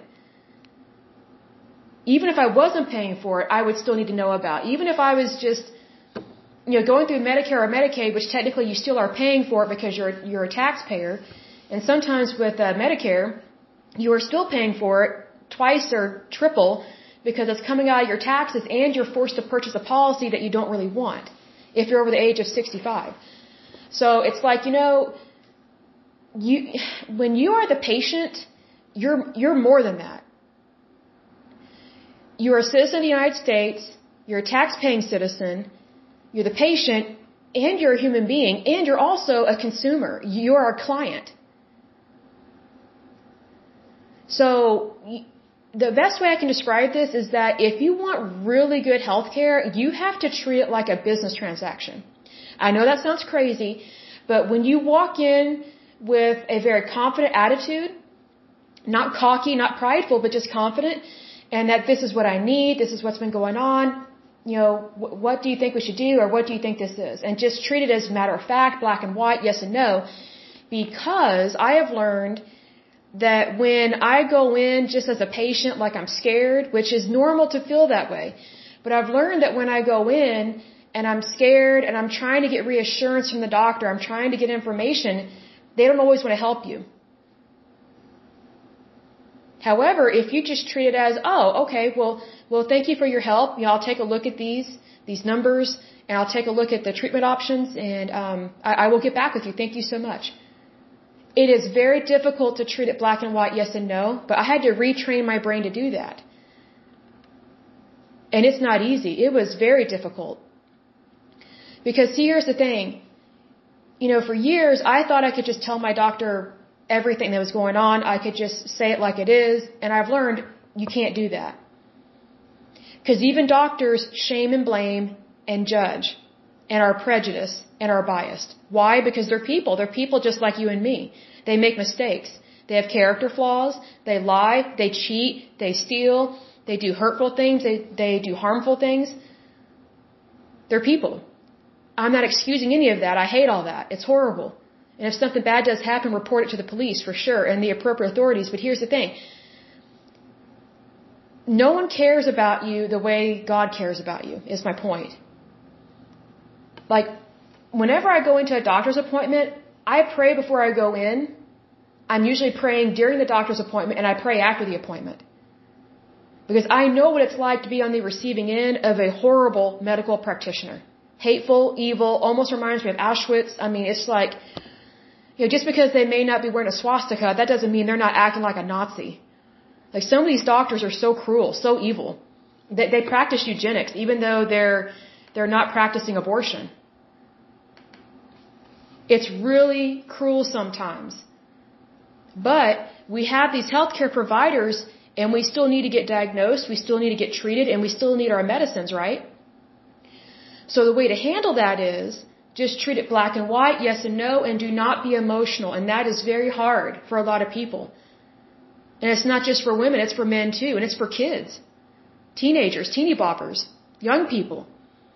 Even if I wasn't paying for it, I would still need to know about it. Even if I was just, you know, going through Medicare or Medicaid, which technically you still are paying for it because you're, you're a taxpayer. And sometimes with uh, Medicare, you are still paying for it twice or triple because it's coming out of your taxes and you're forced to purchase a policy that you don't really want if you're over the age of sixty-five. So it's like, you know, you when you are the patient, you're you're more than that. You're a citizen of the United States, you're a tax-paying citizen, you're the patient, and you're a human being, and you're also a consumer. You're a client. So the best way I can describe this is that if you want really good health care, you have to treat it like a business transaction. I know that sounds crazy, but when you walk in with a very confident attitude, not cocky, not prideful, but just confident, and that this is what I need, this is what's been going on, you know, what do you think we should do, or what do you think this is? And just treat it as a matter of fact, black and white, yes and no, because I have learned that when I go in just as a patient, like I'm scared, which is normal to feel that way, but I've learned that when I go in and I'm scared and I'm trying to get reassurance from the doctor, I'm trying to get information, they don't always want to help you. However, if you just treat it as, oh, okay, well, well, thank you for your help. You know, I'll take a look at these, these numbers, and I'll take a look at the treatment options, and um, I, I will get back with you. Thank you so much. It is very difficult to treat it black and white, yes and no, but I had to retrain my brain to do that. And it's not easy. It was very difficult. Because see, here's the thing. You know, for years, I thought I could just tell my doctor everything that was going on. I could just say it like it is. And I've learned you can't do that. Because even doctors shame and blame and judge and are prejudiced and are biased. Why? Because they're people. They're people just like you and me. They make mistakes. They have character flaws. They lie. They cheat. They steal. They do hurtful things. They, they do harmful things. They're people. I'm not excusing any of that. I hate all that. It's horrible. And if something bad does happen, report it to the police for sure and the appropriate authorities. But here's the thing. No one cares about you the way God cares about you, is my point. Like, whenever I go into a doctor's appointment, I pray before I go in. I'm usually praying during the doctor's appointment, and I pray after the appointment. Because I know what it's like to be on the receiving end of a horrible medical practitioner. Hateful, evil, almost reminds me of Auschwitz. I mean, it's like, you know, just because they may not be wearing a swastika, that doesn't mean they're not acting like a Nazi. Like, some of these doctors are so cruel, so evil. They, they practice eugenics, even though they're, they're not practicing abortion. It's really cruel sometimes. But we have these healthcare providers, And we still need to get diagnosed, we still need to get treated, and we still need our medicines, right? So the way to handle that is just treat it black and white, yes and no, and do not be emotional. And that is very hard for a lot of people. And it's not just for women, it's for men too, and it's for kids, teenagers, teeny boppers, young people.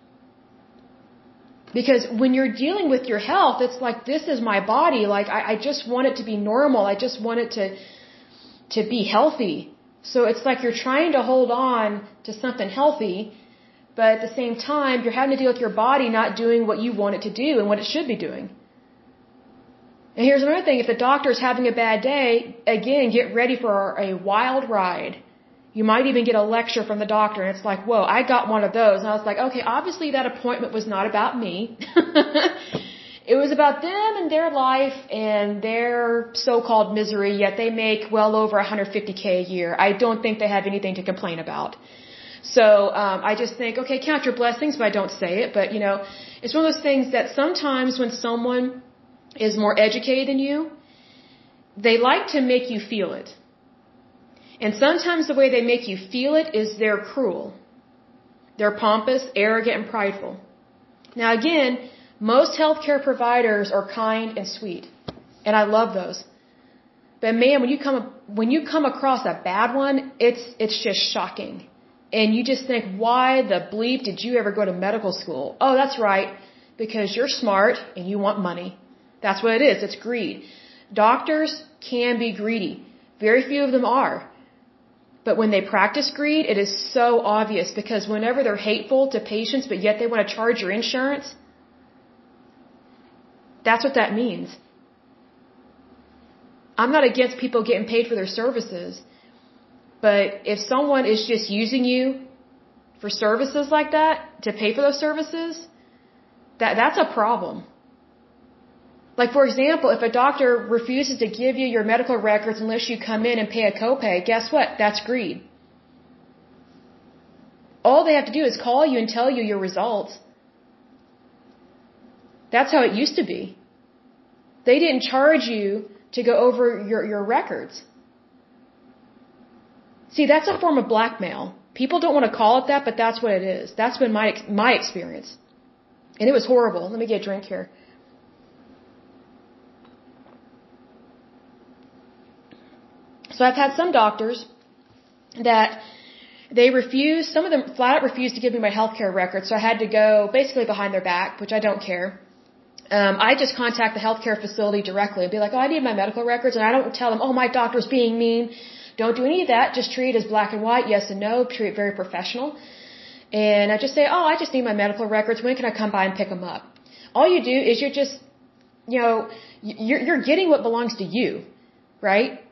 Because when you're dealing with your health, it's like, this is my body. Like, I, I just want it to be normal. I just want it to, to be healthy. So it's like you're trying to hold on to something healthy, but at the same time, you're having to deal with your body not doing what you want it to do and what it should be doing. And here's another thing. If the doctor's having a bad day, again, get ready for a wild ride. You might even get a lecture from the doctor, and it's like, whoa, I got one of those. And I was like, okay, obviously that appointment was not about me. It was about them and their life and their so-called misery, yet they make well over one hundred fifty K a year. I don't think they have anything to complain about. So um, I just think, okay, count your blessings, but I don't say it. But, you know, it's one of those things that sometimes when someone is more educated than you, they like to make you feel it. And sometimes the way they make you feel it is they're cruel. They're pompous, arrogant, and prideful. Now again, most healthcare providers are kind and sweet. And I love those. But man, when you come when you come across a bad one, it's it's just shocking. And you just think, why the bleep did you ever go to medical school? Oh, that's right. Because you're smart and you want money. That's what it is. It's greed. Doctors can be greedy. Very few of them are. But when they practice greed, it is so obvious, because whenever they're hateful to patients, but yet they want to charge your insurance, that's what that means. I'm not against people getting paid for their services, but if someone is just using you for services like that, to pay for those services, that that's a problem. Like, for example, if a doctor refuses to give you your medical records unless you come in and pay a copay, guess what? That's greed. All they have to do is call you and tell you your results. That's how it used to be. They didn't charge you to go over your, your records. See, that's a form of blackmail. People don't want to call it that, but that's what it is. That's been my my experience. And it was horrible. Let me get a drink here. So I've had some doctors that they refuse, some of them flat out refused to give me my healthcare records, so I had to go basically behind their back, which I don't care. Um, I just contact the healthcare facility directly and be like, oh, I need my medical records, and I don't tell them, oh, my doctor's being mean. Don't do any of that. Just treat it as black and white, yes and no. Treat it very professional. And I just say, oh, I just need my medical records. When can I come by and pick them up? All you do is you're just, you know, you're, you're getting what belongs to you, right?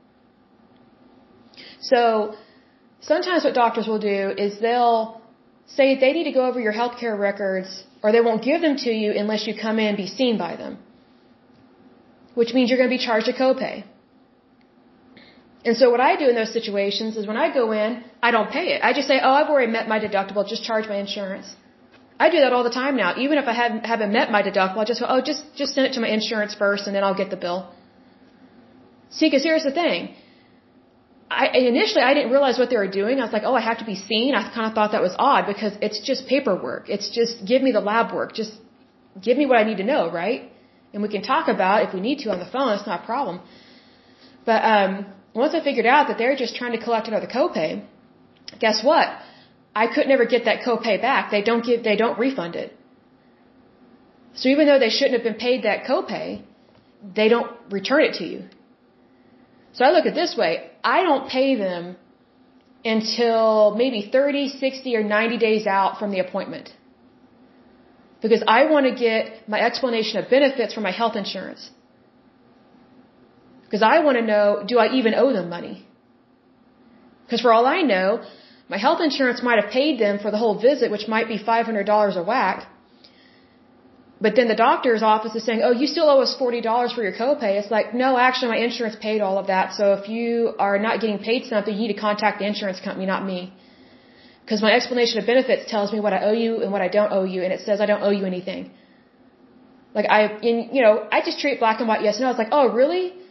So sometimes what doctors will do is they'll say they need to go over your healthcare records, or they won't give them to you unless you come in and be seen by them, which means you're going to be charged a copay. And so what I do in those situations is when I go in, I don't pay it. I just say, oh, I've already met my deductible, just charge my insurance. I do that all the time now. Even if I haven't, haven't met my deductible, I just go, oh, just, just send it to my insurance first and then I'll get the bill. See, because here's the thing. I, initially, I didn't realize what they were doing. I was like, oh, I have to be seen. I kind of thought that was odd because it's just paperwork. It's just give me the lab work. Just give me what I need to know, right? And we can talk about it if we need to on the phone. It's not a problem. But um, once I figured out that they're just trying to collect another copay, guess what? I could never get that copay back. They don't give. They don't refund it. So even though they shouldn't have been paid that copay, they don't return it to you. So I look at it this way. I don't pay them until maybe thirty, sixty, or ninety days out from the appointment. Because I want to get my explanation of benefits for my health insurance. Because I want to know, do I even owe them money? Because for all I know, my health insurance might have paid them for the whole visit, which might be five hundred dollars a whack. But then the doctor's office is saying, oh, you still owe us forty dollars for your copay. It's like, no, actually, my insurance paid all of that. So if you are not getting paid something, you need to contact the insurance company, not me. Because my explanation of benefits tells me what I owe you and what I don't owe you, and it says I don't owe you anything. Like, I, in, you know, I just treat black and white yes and no. It's like, oh, really?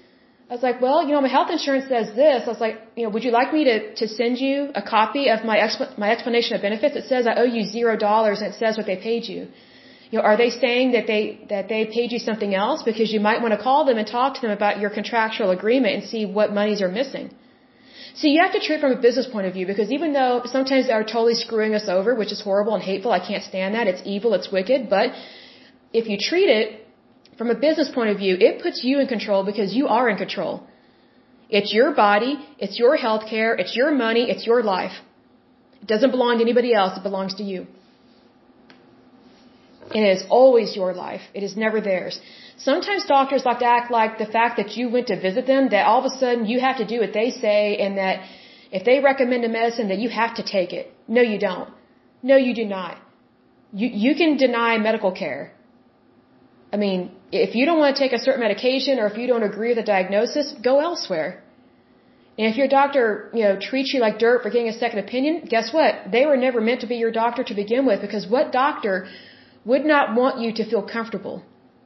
I was like, well, you know, my health insurance says this. I was like, you know, would you like me to, to send you a copy of my exp- my explanation of benefits? It says I owe you zero dollars and it says what they paid you. You know, are they saying that they, that they paid you something else? Because you might want to call them and talk to them about your contractual agreement and see what monies are missing. So you have to treat it from a business point of view, because even though sometimes they're totally screwing us over, which is horrible and hateful, I can't stand that. It's evil, it's wicked. But if you treat it from a business point of view, it puts you in control because you are in control. It's your body, it's your health care, it's your money, it's your life. It doesn't belong to anybody else, it belongs to you. And it is always your life. It is never theirs. Sometimes doctors like to act like the fact that you went to visit them, that all of a sudden you have to do what they say, and that if they recommend a medicine, that you have to take it. No, you don't. No, you do not. You, you can deny medical care. I mean, if you don't want to take a certain medication, or if you don't agree with the diagnosis, go elsewhere. And if your doctor, you know, treats you like dirt for getting a second opinion, guess what? They were never meant to be your doctor to begin with, because what doctor would not want you to feel comfortable?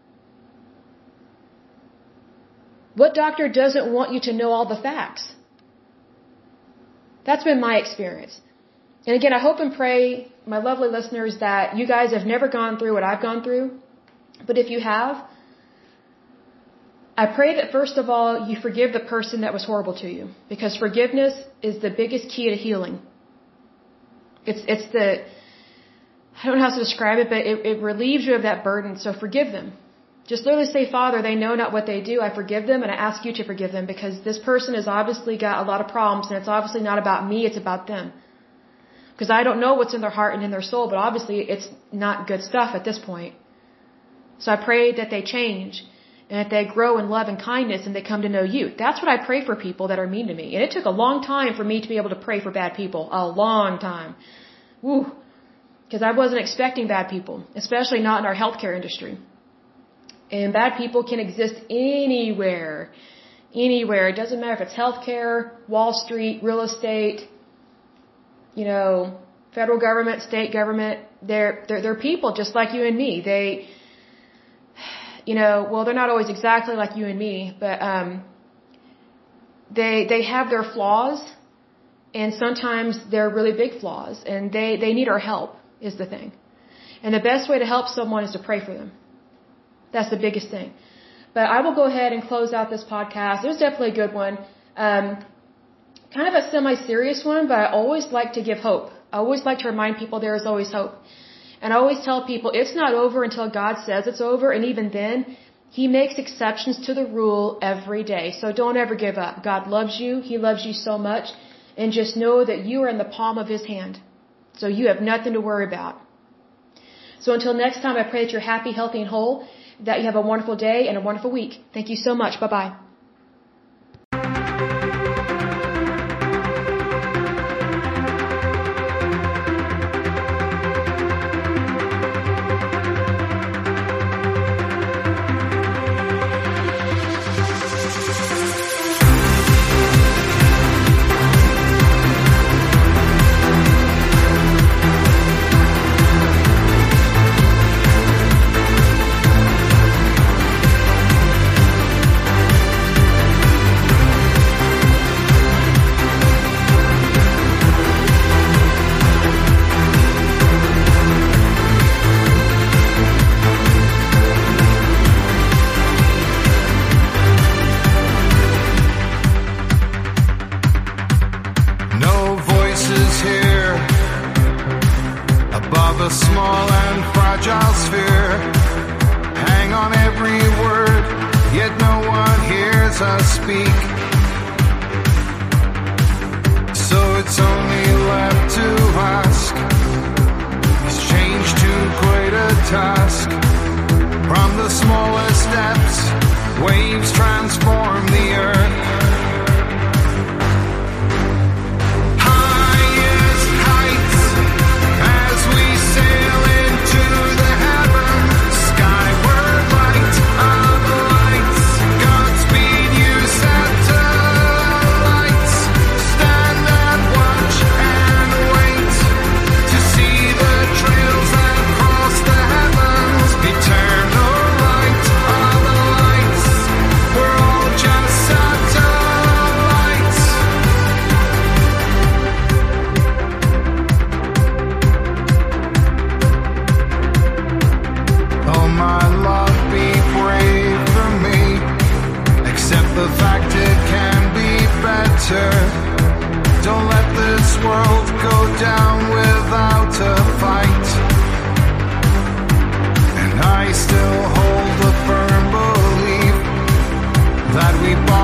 What doctor doesn't want you to know all the facts? That's been my experience. And again, I hope and pray, my lovely listeners, that you guys have never gone through what I've gone through. But if you have, I pray that first of all, you forgive the person that was horrible to you. Because forgiveness is the biggest key to healing. It's, it's the, I don't know how to describe it, but it, it relieves you of that burden. So forgive them. Just literally say, Father, they know not what they do. I forgive them, and I ask you to forgive them, because this person has obviously got a lot of problems, and it's obviously not about me, it's about them. Because I don't know what's in their heart and in their soul, but obviously it's not good stuff at this point. So I pray that they change, and that they grow in love and kindness, and they come to know you. That's what I pray for people that are mean to me. And it took a long time for me to be able to pray for bad people. A long time. Woo. Because I wasn't expecting bad people, especially not in our healthcare industry. And bad people can exist anywhere. Anywhere. It doesn't matter if it's healthcare, Wall Street, real estate, you know, federal government, state government. They're, they're, they're people just like you and me. They, you know, well, they're not always exactly like you and me, but, um, they, they have their flaws, and sometimes they're really big flaws, and they, they need our help, is the thing. And the best way to help someone is to pray for them. That's the biggest thing. But I will go ahead and close out this podcast. It was definitely a good one. Um, kind of a semi-serious one, but I always like to give hope. I always like to remind people there is always hope. And I always tell people it's not over until God says it's over, and even then, He makes exceptions to the rule every day. So don't ever give up. God loves you. He loves you so much. And just know that you are in the palm of His hand. So you have nothing to worry about. So until next time, I pray that you're happy, healthy, and whole, that you have a wonderful day and a wonderful week. Thank you so much. Bye-bye. a small and fragile sphere. Hang on every word, yet no one hears us speak. So it's only left to ask, is change too great a task? From the smallest steps, waves transform the earth. Just this world go down without a fight. And I still hold a firm belief that we both